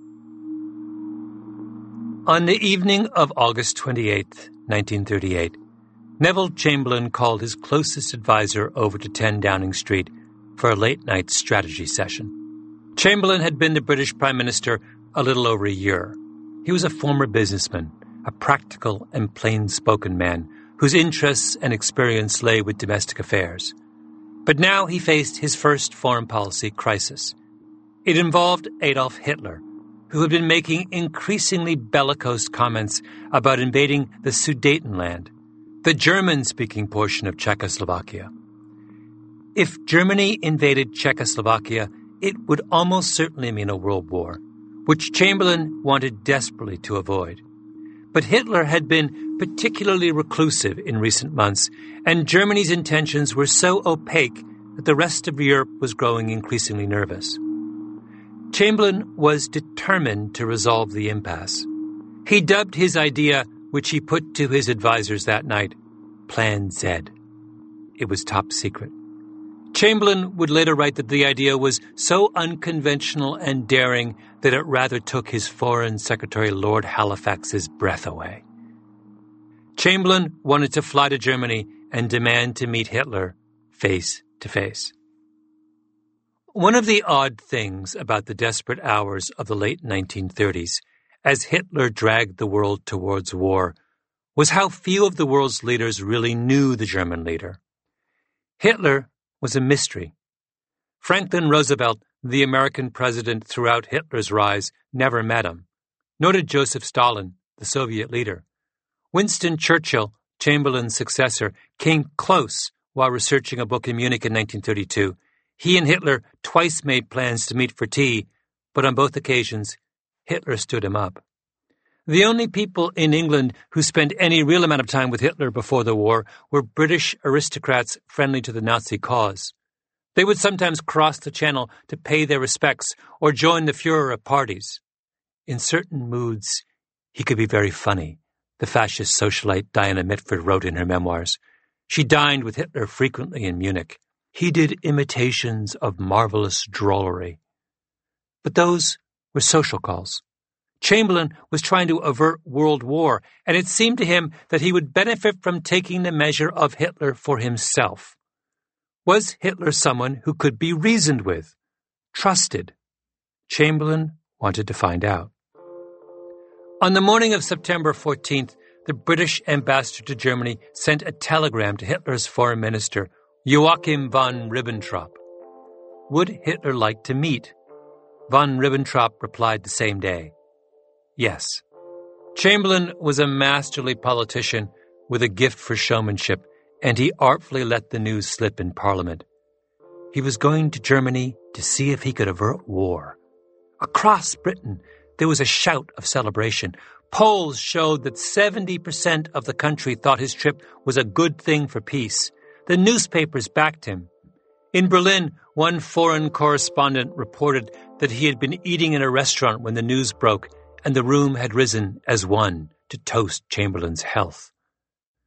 On the evening of August 28th, 1938, Neville Chamberlain called his closest advisor over to 10 Downing Street for a late-night strategy session. Chamberlain had been the British Prime Minister a little over a year. He was a former businessman, a practical and plain-spoken man whose interests and experience lay with domestic affairs. But now he faced his first foreign policy crisis. It involved Adolf Hitler, who had been making increasingly bellicose comments about invading the Sudetenland, the German-speaking portion of Czechoslovakia. If Germany invaded Czechoslovakia, it would almost certainly mean a world war, which Chamberlain wanted desperately to avoid. But Hitler had been particularly reclusive in recent months, and Germany's intentions were so opaque that the rest of Europe was growing increasingly nervous. Chamberlain was determined to resolve the impasse. He dubbed his idea, which he put to his advisors that night, Plan Z. It was top secret. Chamberlain would later write that the idea was so unconventional and daring that it rather took his Foreign Secretary Lord Halifax's breath away. Chamberlain wanted to fly to Germany and demand to meet Hitler face to face. One of the odd things about the desperate hours of the late 1930s, as Hitler dragged the world towards war, was how few of the world's leaders really knew the German leader. Hitler was a mystery. Franklin Roosevelt, the American president throughout Hitler's rise, never met him. Nor did Joseph Stalin, the Soviet leader. Winston Churchill, Chamberlain's successor, came close while researching a book in Munich in 1932. He and Hitler twice made plans to meet for tea, but on both occasions, Hitler stood him up. The only people in England who spent any real amount of time with Hitler before the war were British aristocrats friendly to the Nazi cause. They would sometimes cross the Channel to pay their respects or join the Fuhrer at parties. In certain moods, he could be very funny, the fascist socialite Diana Mitford wrote in her memoirs. She dined with Hitler frequently in Munich. He did imitations of marvelous drollery. But those were social calls. Chamberlain was trying to avert world war, and it seemed to him that he would benefit from taking the measure of Hitler for himself. Was Hitler someone who could be reasoned with, trusted? Chamberlain wanted to find out. On the morning of September 14th, the British ambassador to Germany sent a telegram to Hitler's foreign minister, Joachim von Ribbentrop. Would Hitler like to meet? Von Ribbentrop replied the same day. Yes. Chamberlain was a masterly politician with a gift for showmanship, and he artfully let the news slip in Parliament. He was going to Germany to see if he could avert war. Across Britain, there was a shout of celebration. Polls showed that 70% of the country thought his trip was a good thing for peace. The newspapers backed him. In Berlin, one foreign correspondent reported that he had been eating in a restaurant when the news broke, and the room had risen as one to toast Chamberlain's health.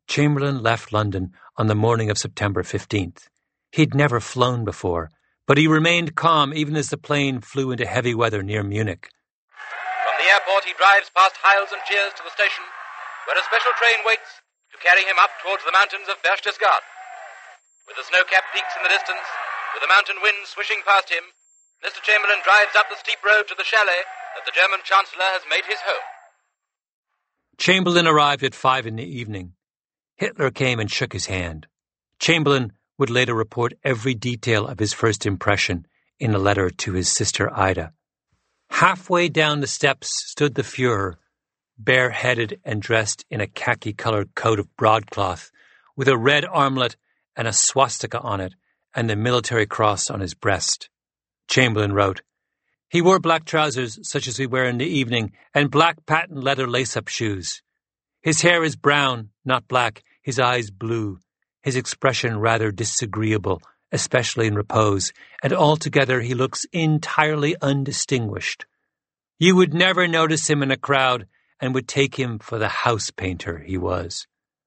Chamberlain left London on the morning of September 15th. He'd never flown before, but he remained calm even as the plane flew into heavy weather near Munich. From the airport, he drives past Hiles and Cheers to the station, where a special train waits to carry him up towards the mountains of Berchtesgaden. With the snow-capped peaks in the distance, with the mountain wind swishing past him, Mr. Chamberlain drives up the steep road to the chalet that the German Chancellor has made his home. Chamberlain arrived at 5 in the evening. Hitler came and shook his hand. Chamberlain would later report every detail of his first impression in a letter to his sister Ida. Halfway down the steps stood the Führer, bareheaded and dressed in a khaki-colored coat of broadcloth, with a red armlet and a swastika on it, and the military cross on his breast. Chamberlain wrote, "He wore black trousers such as we wear in the evening, and black patent leather lace-up shoes. His hair is brown, not black, his eyes blue, his expression rather disagreeable, especially in repose, and altogether he looks entirely undistinguished. You would never notice him in a crowd, and would take him for the house painter he was."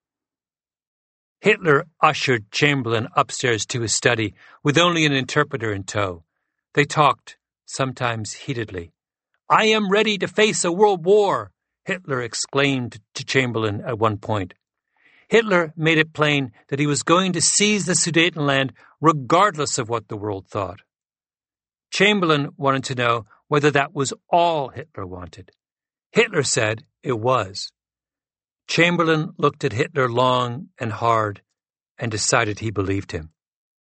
Hitler ushered Chamberlain upstairs to his study with only an interpreter in tow. They talked, sometimes heatedly. "I am ready to face a world war," Hitler exclaimed to Chamberlain at one point. Hitler made it plain that he was going to seize the Sudetenland regardless of what the world thought. Chamberlain wanted to know whether that was all Hitler wanted. Hitler said it was. Chamberlain looked at Hitler long and hard and decided he believed him.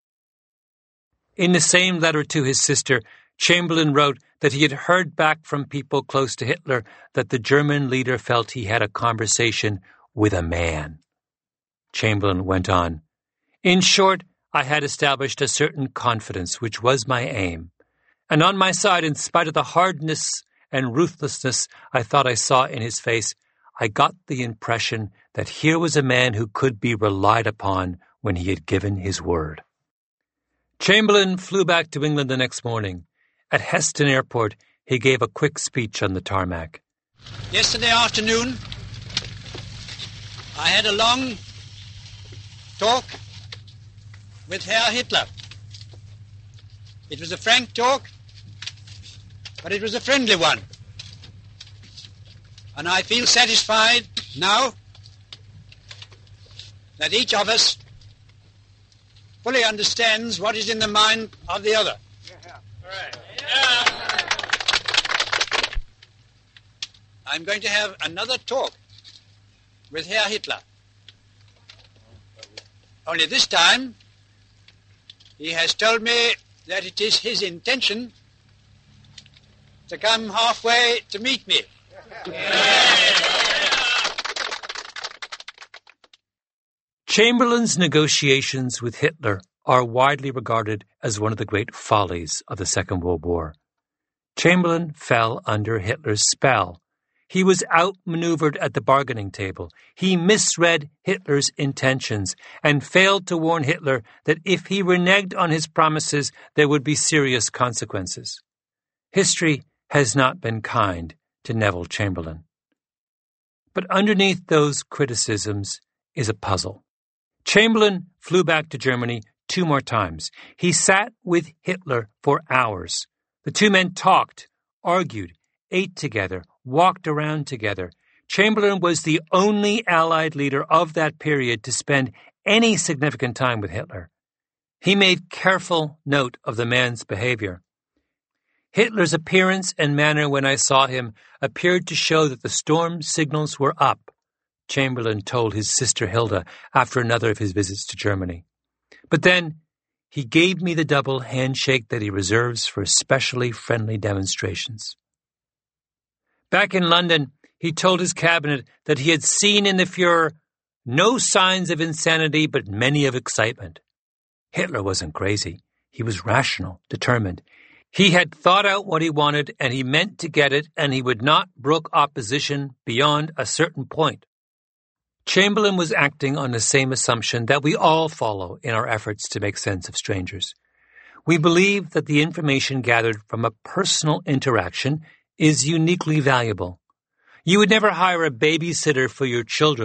In the same letter to his sister, Chamberlain wrote that he had heard back from people close to Hitler that the German leader felt he had a conversation with a man. Chamberlain went on, "In short, I had established a certain confidence, which was my aim. And on my side, in spite of the hardness and ruthlessness I thought I saw in his face, I got the impression that here was a man who could be relied upon when he had given his word." Chamberlain flew back to England the next morning. At Heston Airport, he gave a quick speech on the tarmac. "Yesterday afternoon, I had a long talk with Herr Hitler. It was a frank talk, but it was a friendly one. And I feel satisfied now that each of us fully understands what is in the mind of the other. I'm going to have another talk with Herr Hitler. Only this time, he has told me that it is his intention to come halfway to meet me. Chamberlain's negotiations with Hitler are widely regarded as one of the great follies of the Second World War. Chamberlain fell under Hitler's spell. He was outmaneuvered at the bargaining table. He misread Hitler's intentions and failed to warn Hitler that if he reneged on his promises, there would be serious consequences. History has not been kind to Neville Chamberlain. But underneath those criticisms is a puzzle. Chamberlain flew back to Germany 2 more times. He sat with Hitler for hours. The two men talked, argued, ate together, walked around together. Chamberlain was the only Allied leader of that period to spend any significant time with Hitler. He made careful note of the man's behavior. Hitler's appearance and manner when I saw him appeared to show that the storm signals were up, Chamberlain told his sister Hilda after another of his visits to Germany. But then he gave me the double handshake that he reserves for especially friendly demonstrations. Back in London, he told his cabinet that he had seen in the Führer no signs of insanity but many of excitement. Hitler wasn't crazy. He was rational, determined. He had thought out what he wanted, and he meant to get it, and he would not brook opposition beyond a certain point. Chamberlain was acting on the same assumption that we all follow in our efforts to make sense of strangers. We believe that the information gathered from a personal interaction is uniquely valuable. You would never hire a babysitter for your children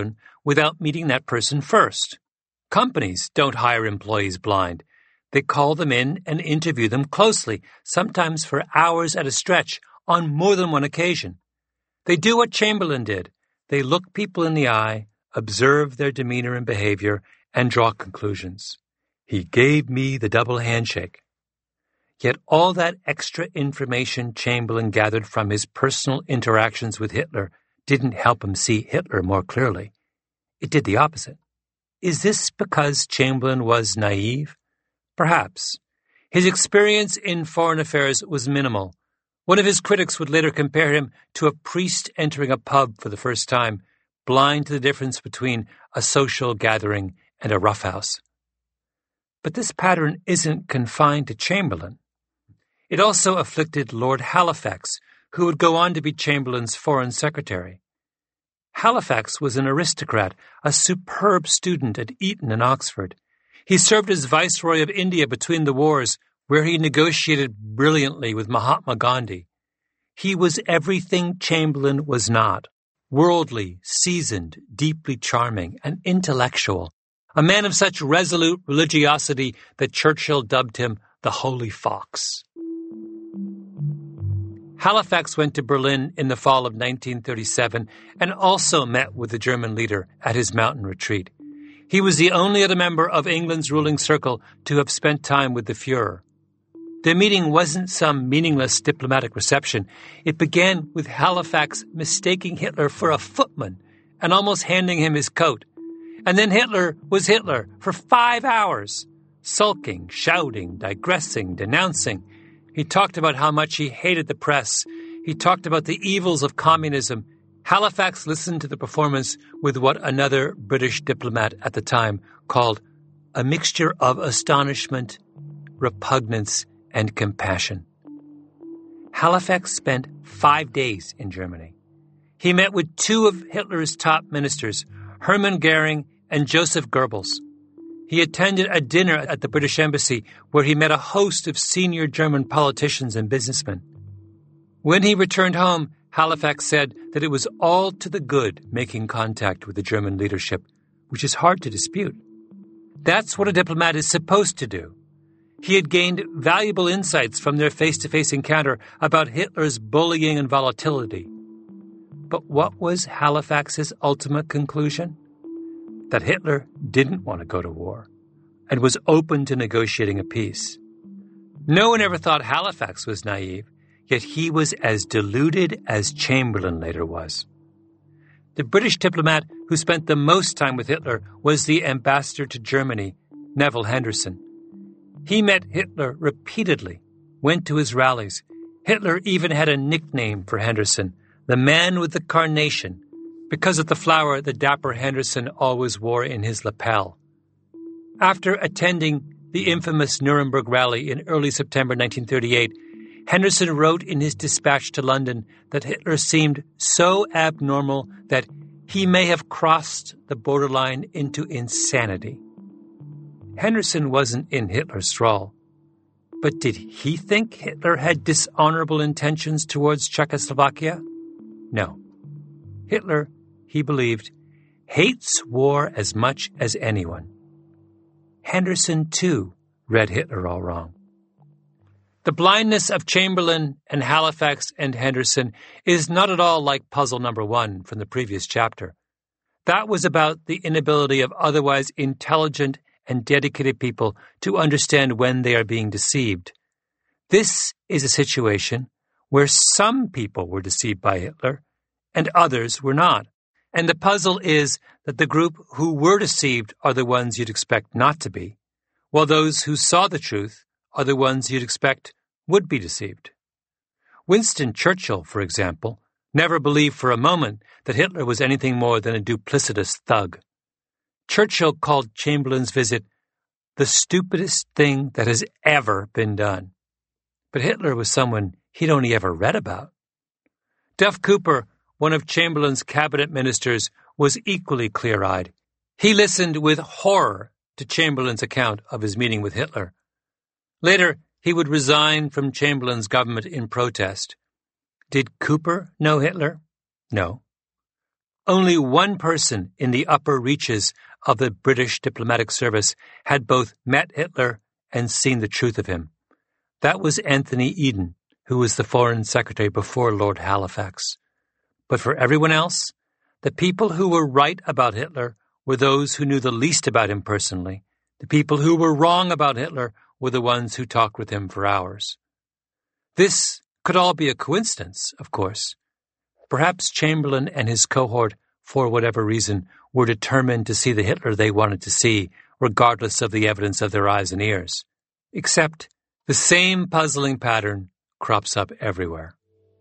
without meeting that person first. Companies don't hire employees blind. They call them in and interview them closely, sometimes for hours at a stretch, on more than one occasion. They do what Chamberlain did. They look people in the eye, observe their demeanor and behavior, and draw conclusions. He gave me the double handshake. Yet all that extra information Chamberlain gathered from his personal interactions with Hitler didn't help him see Hitler more clearly. It did the opposite. Is this because Chamberlain was naive? Perhaps. His experience in foreign affairs was minimal. One of his critics would later compare him to a priest entering a pub for the first time, blind to the difference between a social gathering and a roughhouse. But this pattern isn't confined to Chamberlain. It also afflicted Lord Halifax, who would go on to be Chamberlain's foreign secretary. Halifax was an aristocrat, a superb student at Eton and Oxford. He served as Viceroy of India between the wars, where he negotiated brilliantly with Mahatma Gandhi. He was everything Chamberlain was not: worldly, seasoned, deeply charming, and intellectual, a man of such resolute religiosity that Churchill dubbed him the Holy Fox. Halifax went to Berlin in the fall of 1937 and also met with the German leader at his mountain retreat. He was the only other member of England's ruling circle to have spent time with the Fuhrer. The meeting wasn't some meaningless diplomatic reception. It began with Halifax mistaking Hitler for a footman and almost handing him his coat. And then Hitler was Hitler for 5 hours, sulking, shouting, digressing, denouncing. He talked about how much he hated the press. He talked about the evils of communism. Halifax listened to the performance with what another British diplomat at the time called a mixture of astonishment, repugnance, and compassion. Halifax spent 5 days in Germany. He met with 2 of Hitler's top ministers, Hermann Goering and Joseph Goebbels. He attended a dinner at the British Embassy where he met a host of senior German politicians and businessmen. When he returned home, Halifax said that it was all to the good making contact with the German leadership, which is hard to dispute. That's what a diplomat is supposed to do. He had gained valuable insights from their face-to-face encounter about Hitler's bullying and volatility. But what was Halifax's ultimate conclusion? That Hitler didn't want to go to war and was open to negotiating a peace. No one ever thought Halifax was naive, yet he was as deluded as Chamberlain later was. The British diplomat who spent the most time with Hitler was the ambassador to Germany, Neville Henderson. He met Hitler repeatedly, went to his rallies. Hitler even had a nickname for Henderson, the man with the carnation, because of the flower the dapper Henderson always wore in his lapel. After attending the infamous Nuremberg rally in early September 1938, Henderson wrote in his dispatch to London that Hitler seemed so abnormal that he may have crossed the borderline into insanity. Henderson wasn't in Hitler's thrall, but did he think Hitler had dishonorable intentions towards Czechoslovakia? No. Hitler, he believed, hates war as much as anyone. Henderson, too, read Hitler all wrong. The blindness of Chamberlain and Halifax and Henderson is not at all like puzzle number 1 from the previous chapter. That was about the inability of otherwise intelligent and dedicated people to understand when they are being deceived. This is a situation where some people were deceived by Hitler and others were not. And the puzzle is that the group who were deceived are the ones you'd expect not to be, while those who saw the truth are the ones you'd expect would be deceived. Winston Churchill, for example, never believed for a moment that Hitler was anything more than a duplicitous thug. Churchill called Chamberlain's visit the stupidest thing that has ever been done. But Hitler was someone he'd only ever read about. Duff Cooper, one of Chamberlain's cabinet ministers, was equally clear-eyed. He listened with horror to Chamberlain's account of his meeting with Hitler. Later, he would resign from Chamberlain's government in protest. Did Cooper know Hitler? No. Only one person in the upper reaches of the British diplomatic service had both met Hitler and seen the truth of him. That was Anthony Eden, who was the Foreign Secretary before Lord Halifax. But for everyone else, the people who were right about Hitler were those who knew the least about him personally. The people who were wrong about Hitler were the ones who talked with him for hours. This could all be a coincidence, of course. Perhaps Chamberlain and his cohort, for whatever reason, were determined to see the Hitler they wanted to see, regardless of the evidence of their eyes and ears. Except the same puzzling pattern crops up everywhere.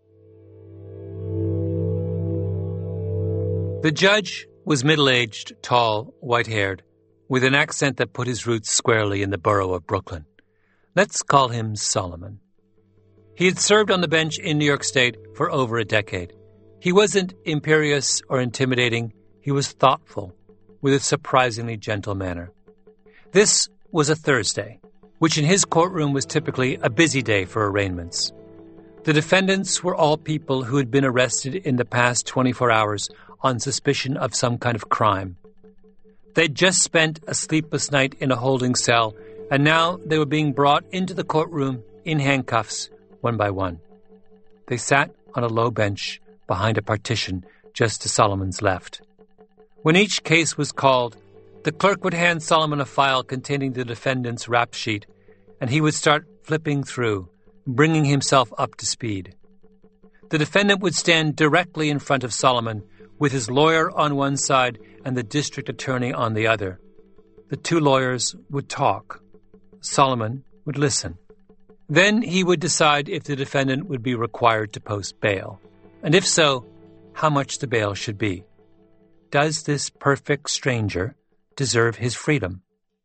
The judge was middle-aged, tall, white-haired, with an accent that put his roots squarely in the borough of Brooklyn. Let's call him Solomon. He had served on the bench in New York State for over a decade. He wasn't imperious or intimidating. He was thoughtful, with a surprisingly gentle manner. This was a Thursday, which in his courtroom was typically a busy day for arraignments. The defendants were all people who had been arrested in the past 24 hours on suspicion of some kind of crime. They'd just spent a sleepless night in a holding cell, and now they were being brought into the courtroom in handcuffs, one by one. They sat on a low bench behind a partition just to Solomon's left. When each case was called, the clerk would hand Solomon a file containing the defendant's rap sheet, and he would start flipping through, bringing himself up to speed. The defendant would stand directly in front of Solomon, with his lawyer on one side and the district attorney on the other. The two lawyers would talk. Solomon would listen. Then he would decide if the defendant would be required to post bail, and if so, how much the bail should be. Does this perfect stranger deserve his freedom?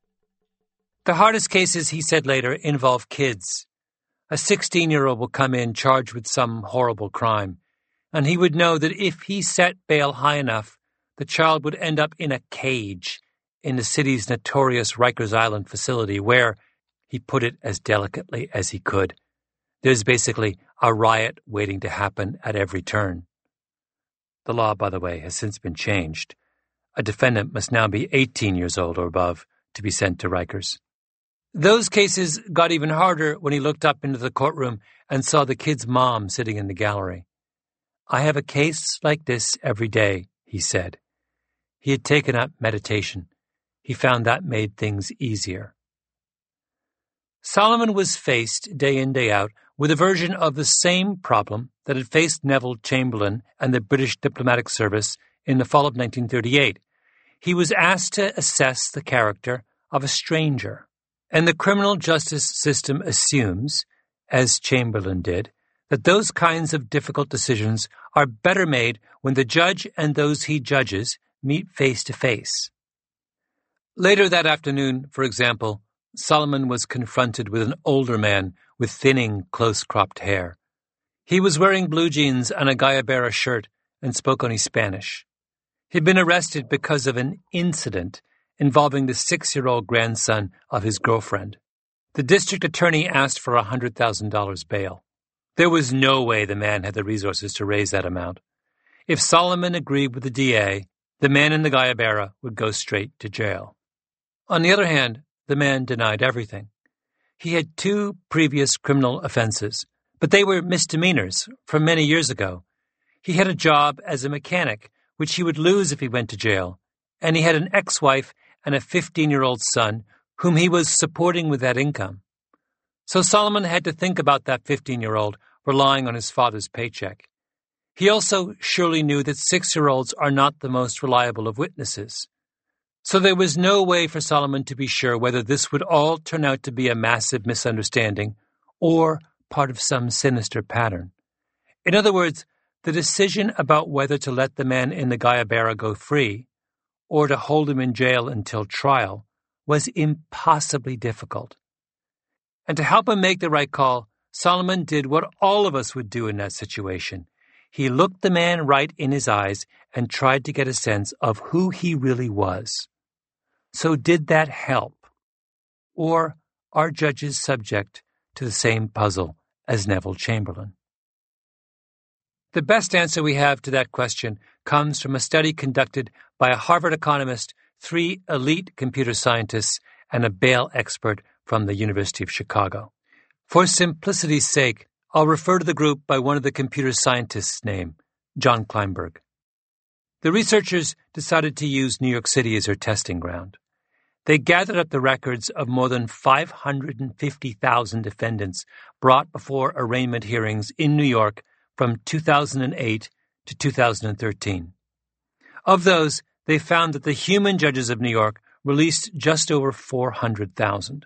The hardest cases, he said later, involve kids. A 16-year-old will come in charged with some horrible crime, and he would know that if he set bail high enough, the child would end up in a cage in the city's notorious Rikers Island facility where, he put it as delicately as he could, there's basically a riot waiting to happen at every turn. The law, by the way, has since been changed. A defendant must now be 18 years old or above to be sent to Rikers. Those cases got even harder when he looked up into the courtroom and saw the kid's mom sitting in the gallery. I have a case like this every day, he said. He had taken up meditation. He found that made things easier. Solomon was faced, day in, day out, with a version of the same problem that had faced Neville Chamberlain and the British diplomatic service in the fall of 1938. He was asked to assess the character of a stranger. And the criminal justice system assumes, as Chamberlain did, that those kinds of difficult decisions are better made when the judge and those he judges meet face to face. Later that afternoon, for example, Solomon was confronted with an older man with thinning, close-cropped hair. He was wearing blue jeans and a Guayabera shirt and spoke only Spanish. He'd been arrested because of an incident involving the 6-year-old grandson of his girlfriend. The district attorney asked for $100,000 bail. There was no way the man had the resources to raise that amount. If Solomon agreed with the DA, the man in the Guayabera would go straight to jail. On the other hand, the man denied everything. He had 2 previous criminal offenses, but they were misdemeanors from many years ago. He had a job as a mechanic, which he would lose if he went to jail, and he had an ex-wife and a 15-year-old son whom he was supporting with that income. So Solomon had to think about that 15-year-old relying on his father's paycheck. He also surely knew that 6-year-olds are not the most reliable of witnesses. So there was no way for Solomon to be sure whether this would all turn out to be a massive misunderstanding or part of some sinister pattern. In other words, the decision about whether to let the man in the Guayabera go free or to hold him in jail until trial was impossibly difficult. And to help him make the right call, Solomon did what all of us would do in that situation. He looked the man right in his eyes and tried to get a sense of who he really was. So did that help? Or are judges subject to the same puzzle as Neville Chamberlain? The best answer we have to that question comes from a study conducted by a Harvard economist, 3 elite computer scientists, and a bail expert from the University of Chicago. For simplicity's sake, I'll refer to the group by one of the computer scientists' name, John Kleinberg. The researchers decided to use New York City as their testing ground. They gathered up the records of more than 550,000 defendants brought before arraignment hearings in New York from 2008 to 2013. Of those, they found that the human judges of New York released just over 400,000.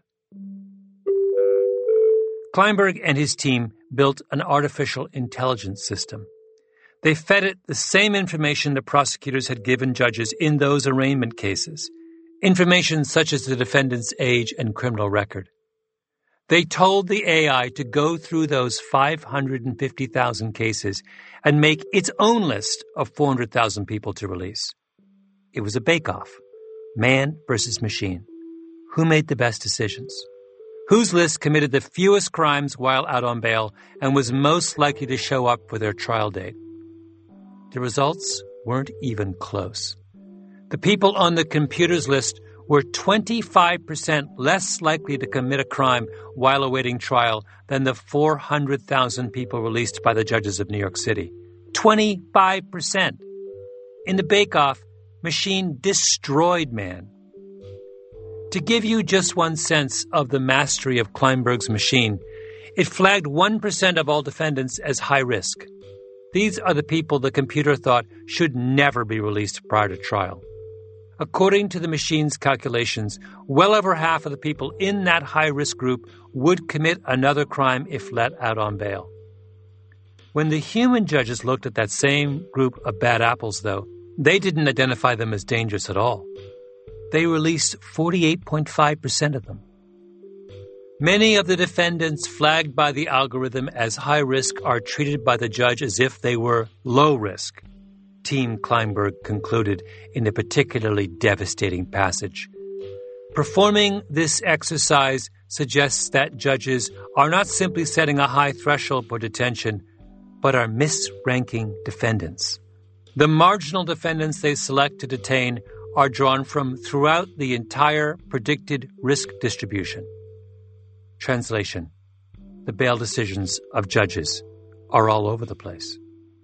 Kleinberg and his team built an artificial intelligence system. They fed it the same information the prosecutors had given judges in those arraignment cases, information such as the defendant's age and criminal record. They told the AI to go through those 550,000 cases and make its own list of 400,000 people to release. It was a bake-off, man versus machine. Who made the best decisions? Whose list committed the fewest crimes while out on bail and was most likely to show up for their trial date? The results weren't even close. The people on the computer's list were 25% less likely to commit a crime while awaiting trial than the 400,000 people released by the judges of New York City. 25%. In the bake-off, machine destroyed man. To give you just one sense of the mastery of Kleinberg's machine, it flagged 1% of all defendants as high risk. These are the people the computer thought should never be released prior to trial. According to the machine's calculations, well over half of the people in that high-risk group would commit another crime if let out on bail. When the human judges looked at that same group of bad apples, though, they didn't identify them as dangerous at all. They released 48.5% of them. Many of the defendants flagged by the algorithm as high risk are treated by the judge as if they were low risk, Team Kleinberg concluded in a particularly devastating passage. Performing this exercise suggests that judges are not simply setting a high threshold for detention, but are misranking defendants. The marginal defendants they select to detain are drawn from throughout the entire predicted risk distribution. Translation: the bail decisions of judges are all over the place.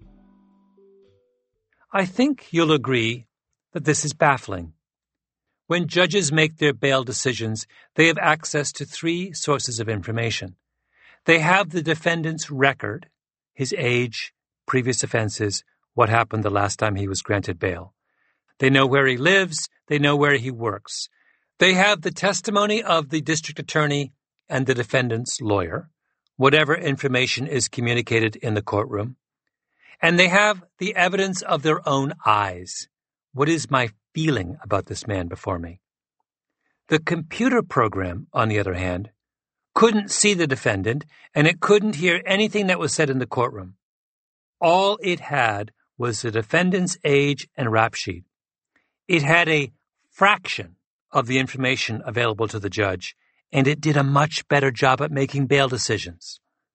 I think you'll agree that this is baffling. When judges make their bail decisions, they have access to 3 sources of information. They have the defendant's record, his age, previous offenses, what happened the last time he was granted bail. They know where he lives. They know where he works. They have the testimony of the district attorney and the defendant's lawyer, whatever information is communicated in the courtroom. And they have the evidence of their own eyes. What is my feeling about this man before me? The computer program, on the other hand, couldn't see the defendant, and it couldn't hear anything that was said in the courtroom. All it had was the defendant's age and rap sheet. It had a fraction of the information available to the judge, and it did a much better job at making bail decisions.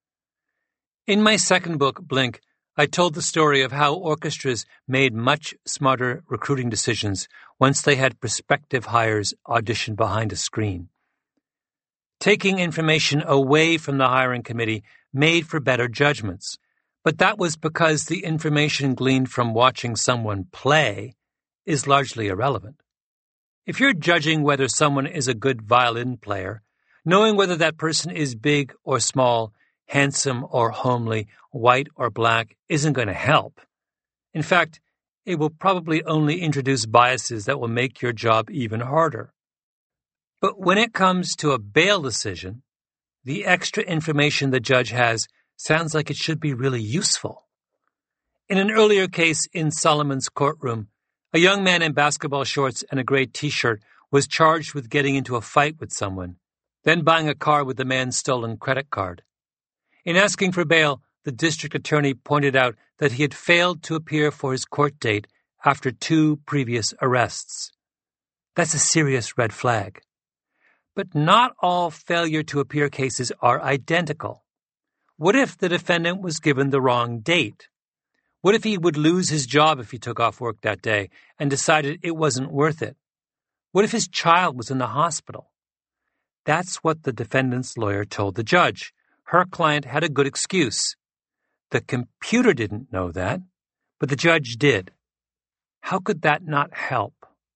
In my second book, Blink, I told the story of how orchestras made much smarter recruiting decisions once they had prospective hires audition behind a screen. Taking information away from the hiring committee made for better judgments, but that was because the information gleaned from watching someone play is largely irrelevant. If you're judging whether someone is a good violin player, knowing whether that person is big or small, handsome or homely, white or black isn't going to help. In fact, it will probably only introduce biases that will make your job even harder. But when it comes to a bail decision, the extra information the judge has sounds like it should be really useful. In an earlier case in Solomon's courtroom, a young man in basketball shorts and a gray T-shirt was charged with getting into a fight with someone, then buying a car with the man's stolen credit card. In asking for bail, the district attorney pointed out that he had failed to appear for his court date after 2 previous arrests. That's a serious red flag. But not all failure to appear cases are identical. What if the defendant was given the wrong date? What if he would lose his job if he took off work that day and decided it wasn't worth it? What if his child was in the hospital? That's what the defendant's lawyer told the judge. Her client had a good excuse. The computer didn't know that, but the judge did. How could that not help?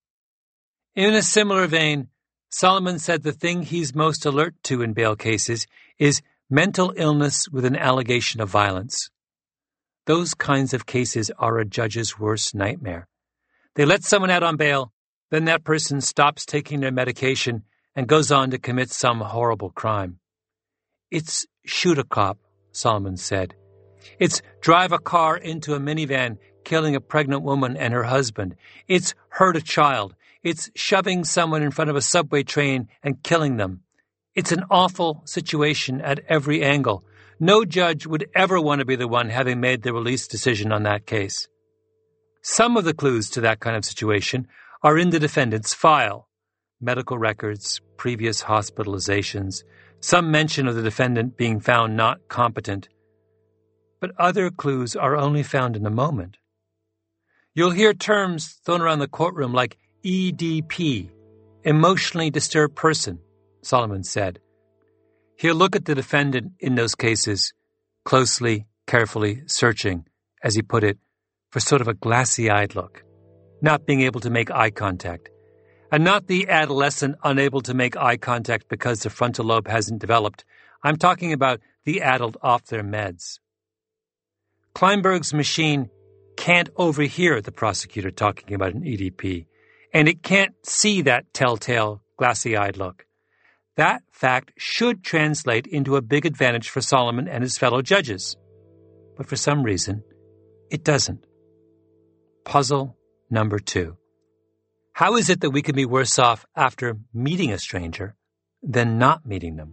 In a similar vein, Solomon said the thing he's most alert to in bail cases is mental illness with an allegation of violence. Those kinds of cases are a judge's worst nightmare. They let someone out on bail, then that person stops taking their medication and goes on to commit some horrible crime. It's shoot a cop, Solomon said. It's drive a car into a minivan, killing a pregnant woman and her husband. It's hurt a child. It's shoving someone in front of a subway train and killing them. It's an awful situation at every angle. No judge would ever want to be the one having made the release decision on that case. Some of the clues to that kind of situation are in the defendant's file. Medical records, previous hospitalizations, some mention of the defendant being found not competent. But other clues are only found in the moment. You'll hear terms thrown around the courtroom like EDP, emotionally disturbed person, Solomon said. He'll look at the defendant in those cases, closely, carefully searching, as he put it, for sort of a glassy-eyed look, not being able to make eye contact, and not the adolescent unable to make eye contact because the frontal lobe hasn't developed. I'm talking about the adult off their meds. Kleinberg's machine can't overhear the prosecutor talking about an EDP, and it can't see that telltale, glassy-eyed look. That fact should translate into a big advantage for Solomon and his fellow judges. But for some reason, it doesn't. Puzzle number 2. How is it that we can be worse off after meeting a stranger than not meeting them?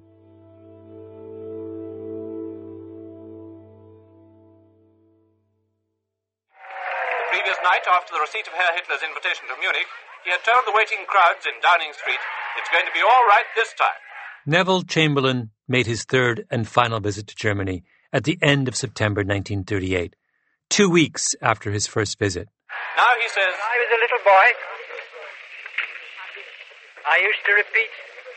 The previous night, after the receipt of Herr Hitler's invitation to Munich, he had told the waiting crowds in Downing Street, "It's going to be all right this time." Neville Chamberlain made his third and final visit to Germany at the end of September 1938, 2 weeks after his first visit. Now he says, "When I was a little boy, I used to repeat,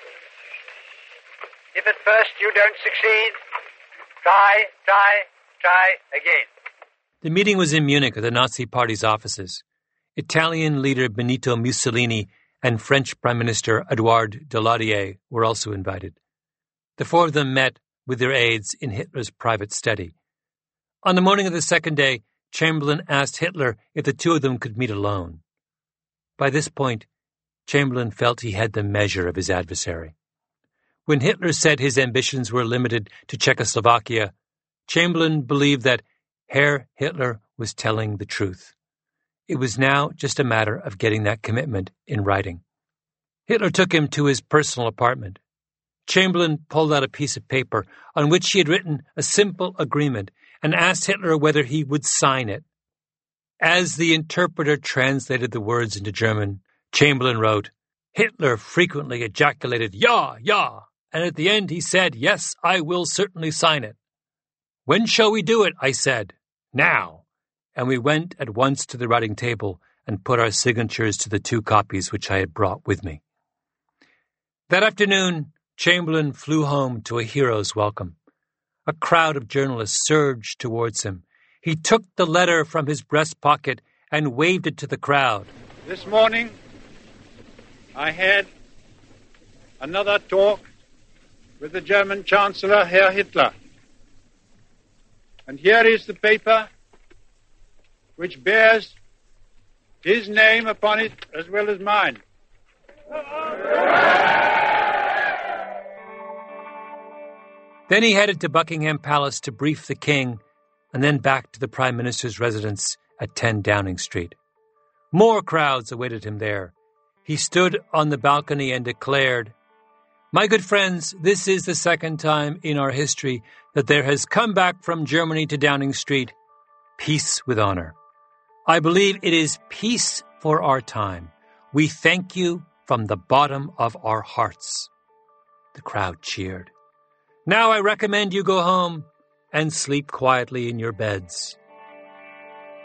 if at first you don't succeed, try again." The meeting was in Munich at the Nazi Party's offices. Italian leader Benito Mussolini and French Prime Minister Edouard Daladier were also invited. The four of them met with their aides in Hitler's private study. On the morning of the second day, Chamberlain asked Hitler if the two of them could meet alone. By this point, Chamberlain felt he had the measure of his adversary. When Hitler said his ambitions were limited to Czechoslovakia, Chamberlain believed that Herr Hitler was telling the truth. It was now just a matter of getting that commitment in writing. Hitler took him to his personal apartment. Chamberlain pulled out a piece of paper on which he had written a simple agreement and asked Hitler whether he would sign it. As the interpreter translated the words into German, Chamberlain wrote, "Hitler frequently ejaculated, 'Ja, ja,' and at the end he said, 'Yes, I will certainly sign it.' 'When shall we do it?' I said. 'Now.' And we went at once to the writing table and put our signatures to the 2 copies which I had brought with me." That afternoon, Chamberlain flew home to a hero's welcome. A crowd of journalists surged towards him. He took the letter from his breast pocket and waved it to the crowd. "This morning, I had another talk with the German Chancellor, Herr Hitler. And here is the paper which bears his name upon it as well as mine." Then he headed to Buckingham Palace to brief the king, and then back to the Prime Minister's residence at 10 Downing Street. More crowds awaited him there. He stood on the balcony and declared, "My good friends, this is the second time in our history that there has come back from Germany to Downing Street peace with honor. I believe it is peace for our time. We thank you from the bottom of our hearts." The crowd cheered. "Now I recommend you go home and sleep quietly in your beds."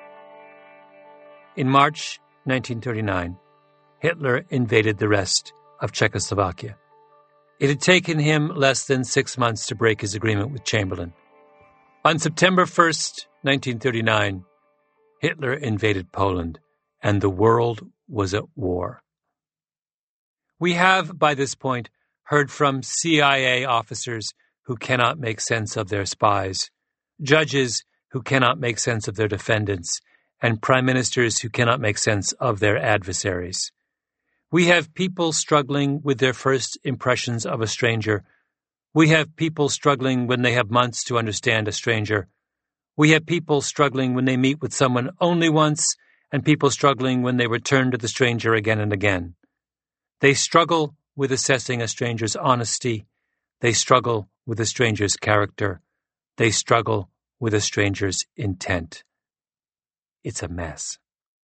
In March 1939, Hitler invaded the rest of Czechoslovakia. It had taken him less than 6 months to break his agreement with Chamberlain. On September 1st, 1939, Hitler invaded Poland, and the world was at war. We have, by this point, heard from CIA officers who cannot make sense of their spies, judges who cannot make sense of their defendants, and prime ministers who cannot make sense of their adversaries. We have people struggling with their first impressions of a stranger. We have people struggling when they have months to understand a stranger. We have people struggling when they meet with someone only once, and people struggling when they return to the stranger again and again. They struggle with assessing a stranger's honesty. They struggle with a stranger's character. They struggle with a stranger's intent. It's a mess.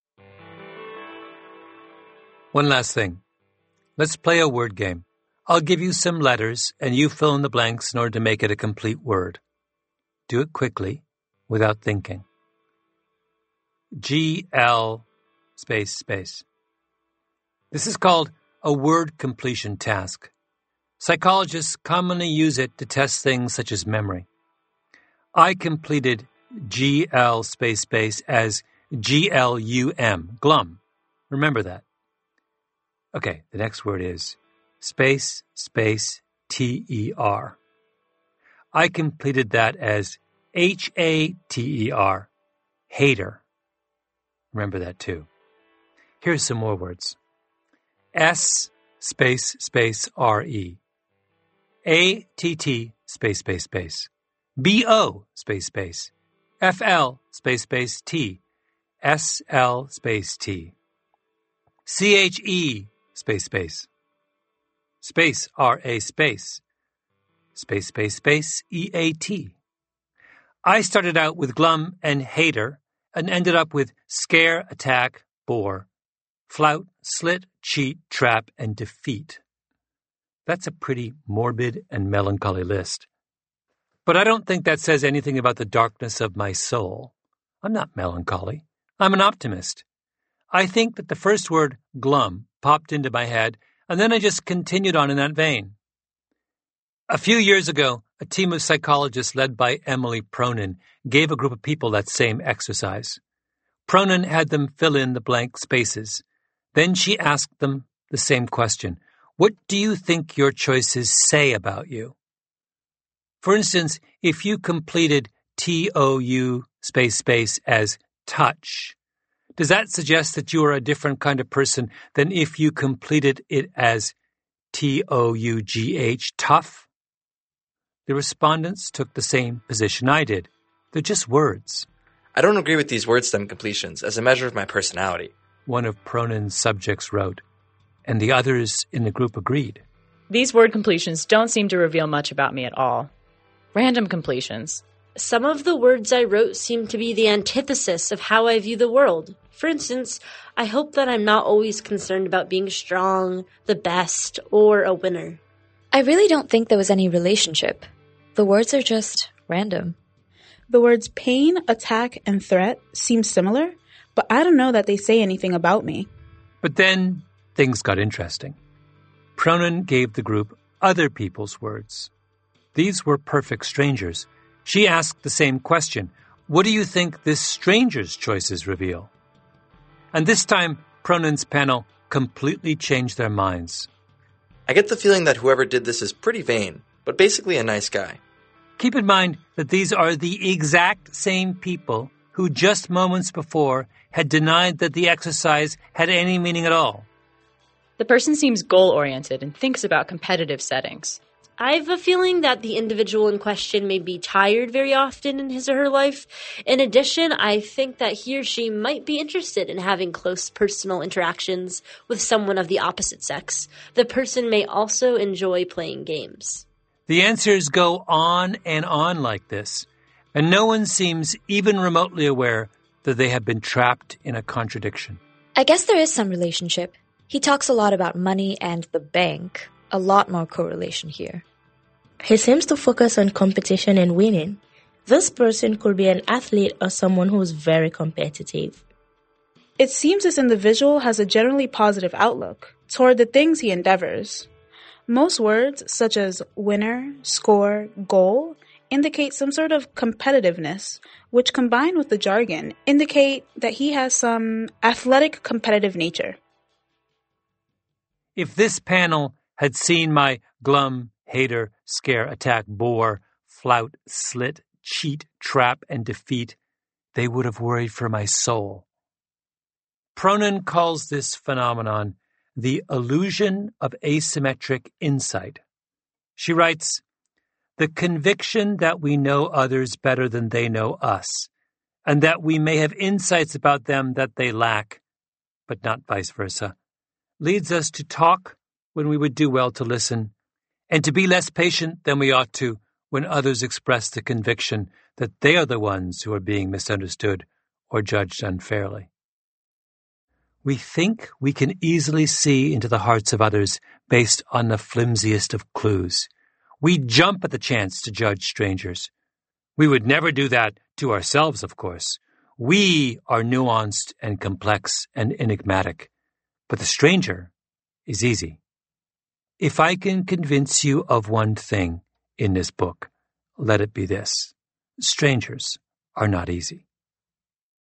One last thing. Let's play a word game. I'll give you some letters, and you fill in the blanks in order to make it a complete word. Do it quickly, without thinking. GL space space. This is called a word completion task. Psychologists commonly use it to test things such as memory. I completed GL space space as GLUM, glum. Remember that. Okay, the next word is space space TER. I completed that as HATER, hater. Remember that too. Here's some more words. S space space RE. ATT space space space. BO space space. FL space space T. SL space T. CHE space space. Space RA space. Space space space EAT. I started out with glum and hater and ended up with scare, attack, bore, flout, slit, cheat, trap, and defeat. That's a pretty morbid and melancholy list. But I don't think that says anything about the darkness of my soul. I'm not melancholy. I'm an optimist. I think that the first word, glum, popped into my head, and then I just continued on in that vein. A few years ago, a team of psychologists led by Emily Pronin gave a group of people that same exercise. Pronin had them fill in the blank spaces. Then she asked them the same question. What do you think your choices say about you? For instance, if you completed TOU space space as touch, does that suggest that you are a different kind of person than if you completed it as TOUGH, tough? The respondents took the same position I did. They're just words. I don't agree with these word stem completions as a measure of my personality, one of Pronin's subjects wrote, and the others in the group agreed. These word completions don't seem to reveal much about me at all. Random completions. Some of the words I wrote seem to be the antithesis of how I view the world. For instance, I hope that I'm not always concerned about being strong, the best, or a winner. I really don't think there was any relationship. The words are just random. The words pain, attack, and threat seem similar, but I don't know that they say anything about me. But then things got interesting. Pronin gave the group other people's words. These were perfect strangers. She asked the same question. What do you think this stranger's choices reveal? And this time, Pronin's panel completely changed their minds. I get the feeling that whoever did this is pretty vain, but basically a nice guy. Keep in mind that these are the exact same people who just moments before had denied that the exercise had any meaning at all. The person seems goal-oriented and thinks about competitive settings. I have a feeling that the individual in question may be tired very often in his or her life. In addition, I think that he or she might be interested in having close personal interactions with someone of the opposite sex. The person may also enjoy playing games. The answers go on and on like this, and no one seems even remotely aware that they have been trapped in a contradiction. I guess there is some relationship. He talks a lot about money and the bank. A lot more correlation here. He seems to focus on competition and winning. This person could be an athlete or someone who's very competitive. It seems this individual has a generally positive outlook toward the things he endeavors. Most words, such as winner, score, goal, indicate some sort of competitiveness, which combined with the jargon indicate that he has some athletic competitive nature. If this panel had seen my glum, hater, scare, attack, bore, flout, slit, cheat, trap, and defeat, they would have worried for my soul. Pronin calls this phenomenon the illusion of asymmetric insight. She writes, "The conviction that we know others better than they know us, and that we may have insights about them that they lack, but not vice versa, leads us to talk when we would do well to listen, and to be less patient than we ought to when others express the conviction that they are the ones who are being misunderstood or judged unfairly. We think we can easily see into the hearts of others based on the flimsiest of clues. We jump at the chance to judge strangers. We would never do that to ourselves, of course. We are nuanced and complex and enigmatic, but the stranger is easy. If I can convince you of one thing in this book, let it be this: strangers are not easy."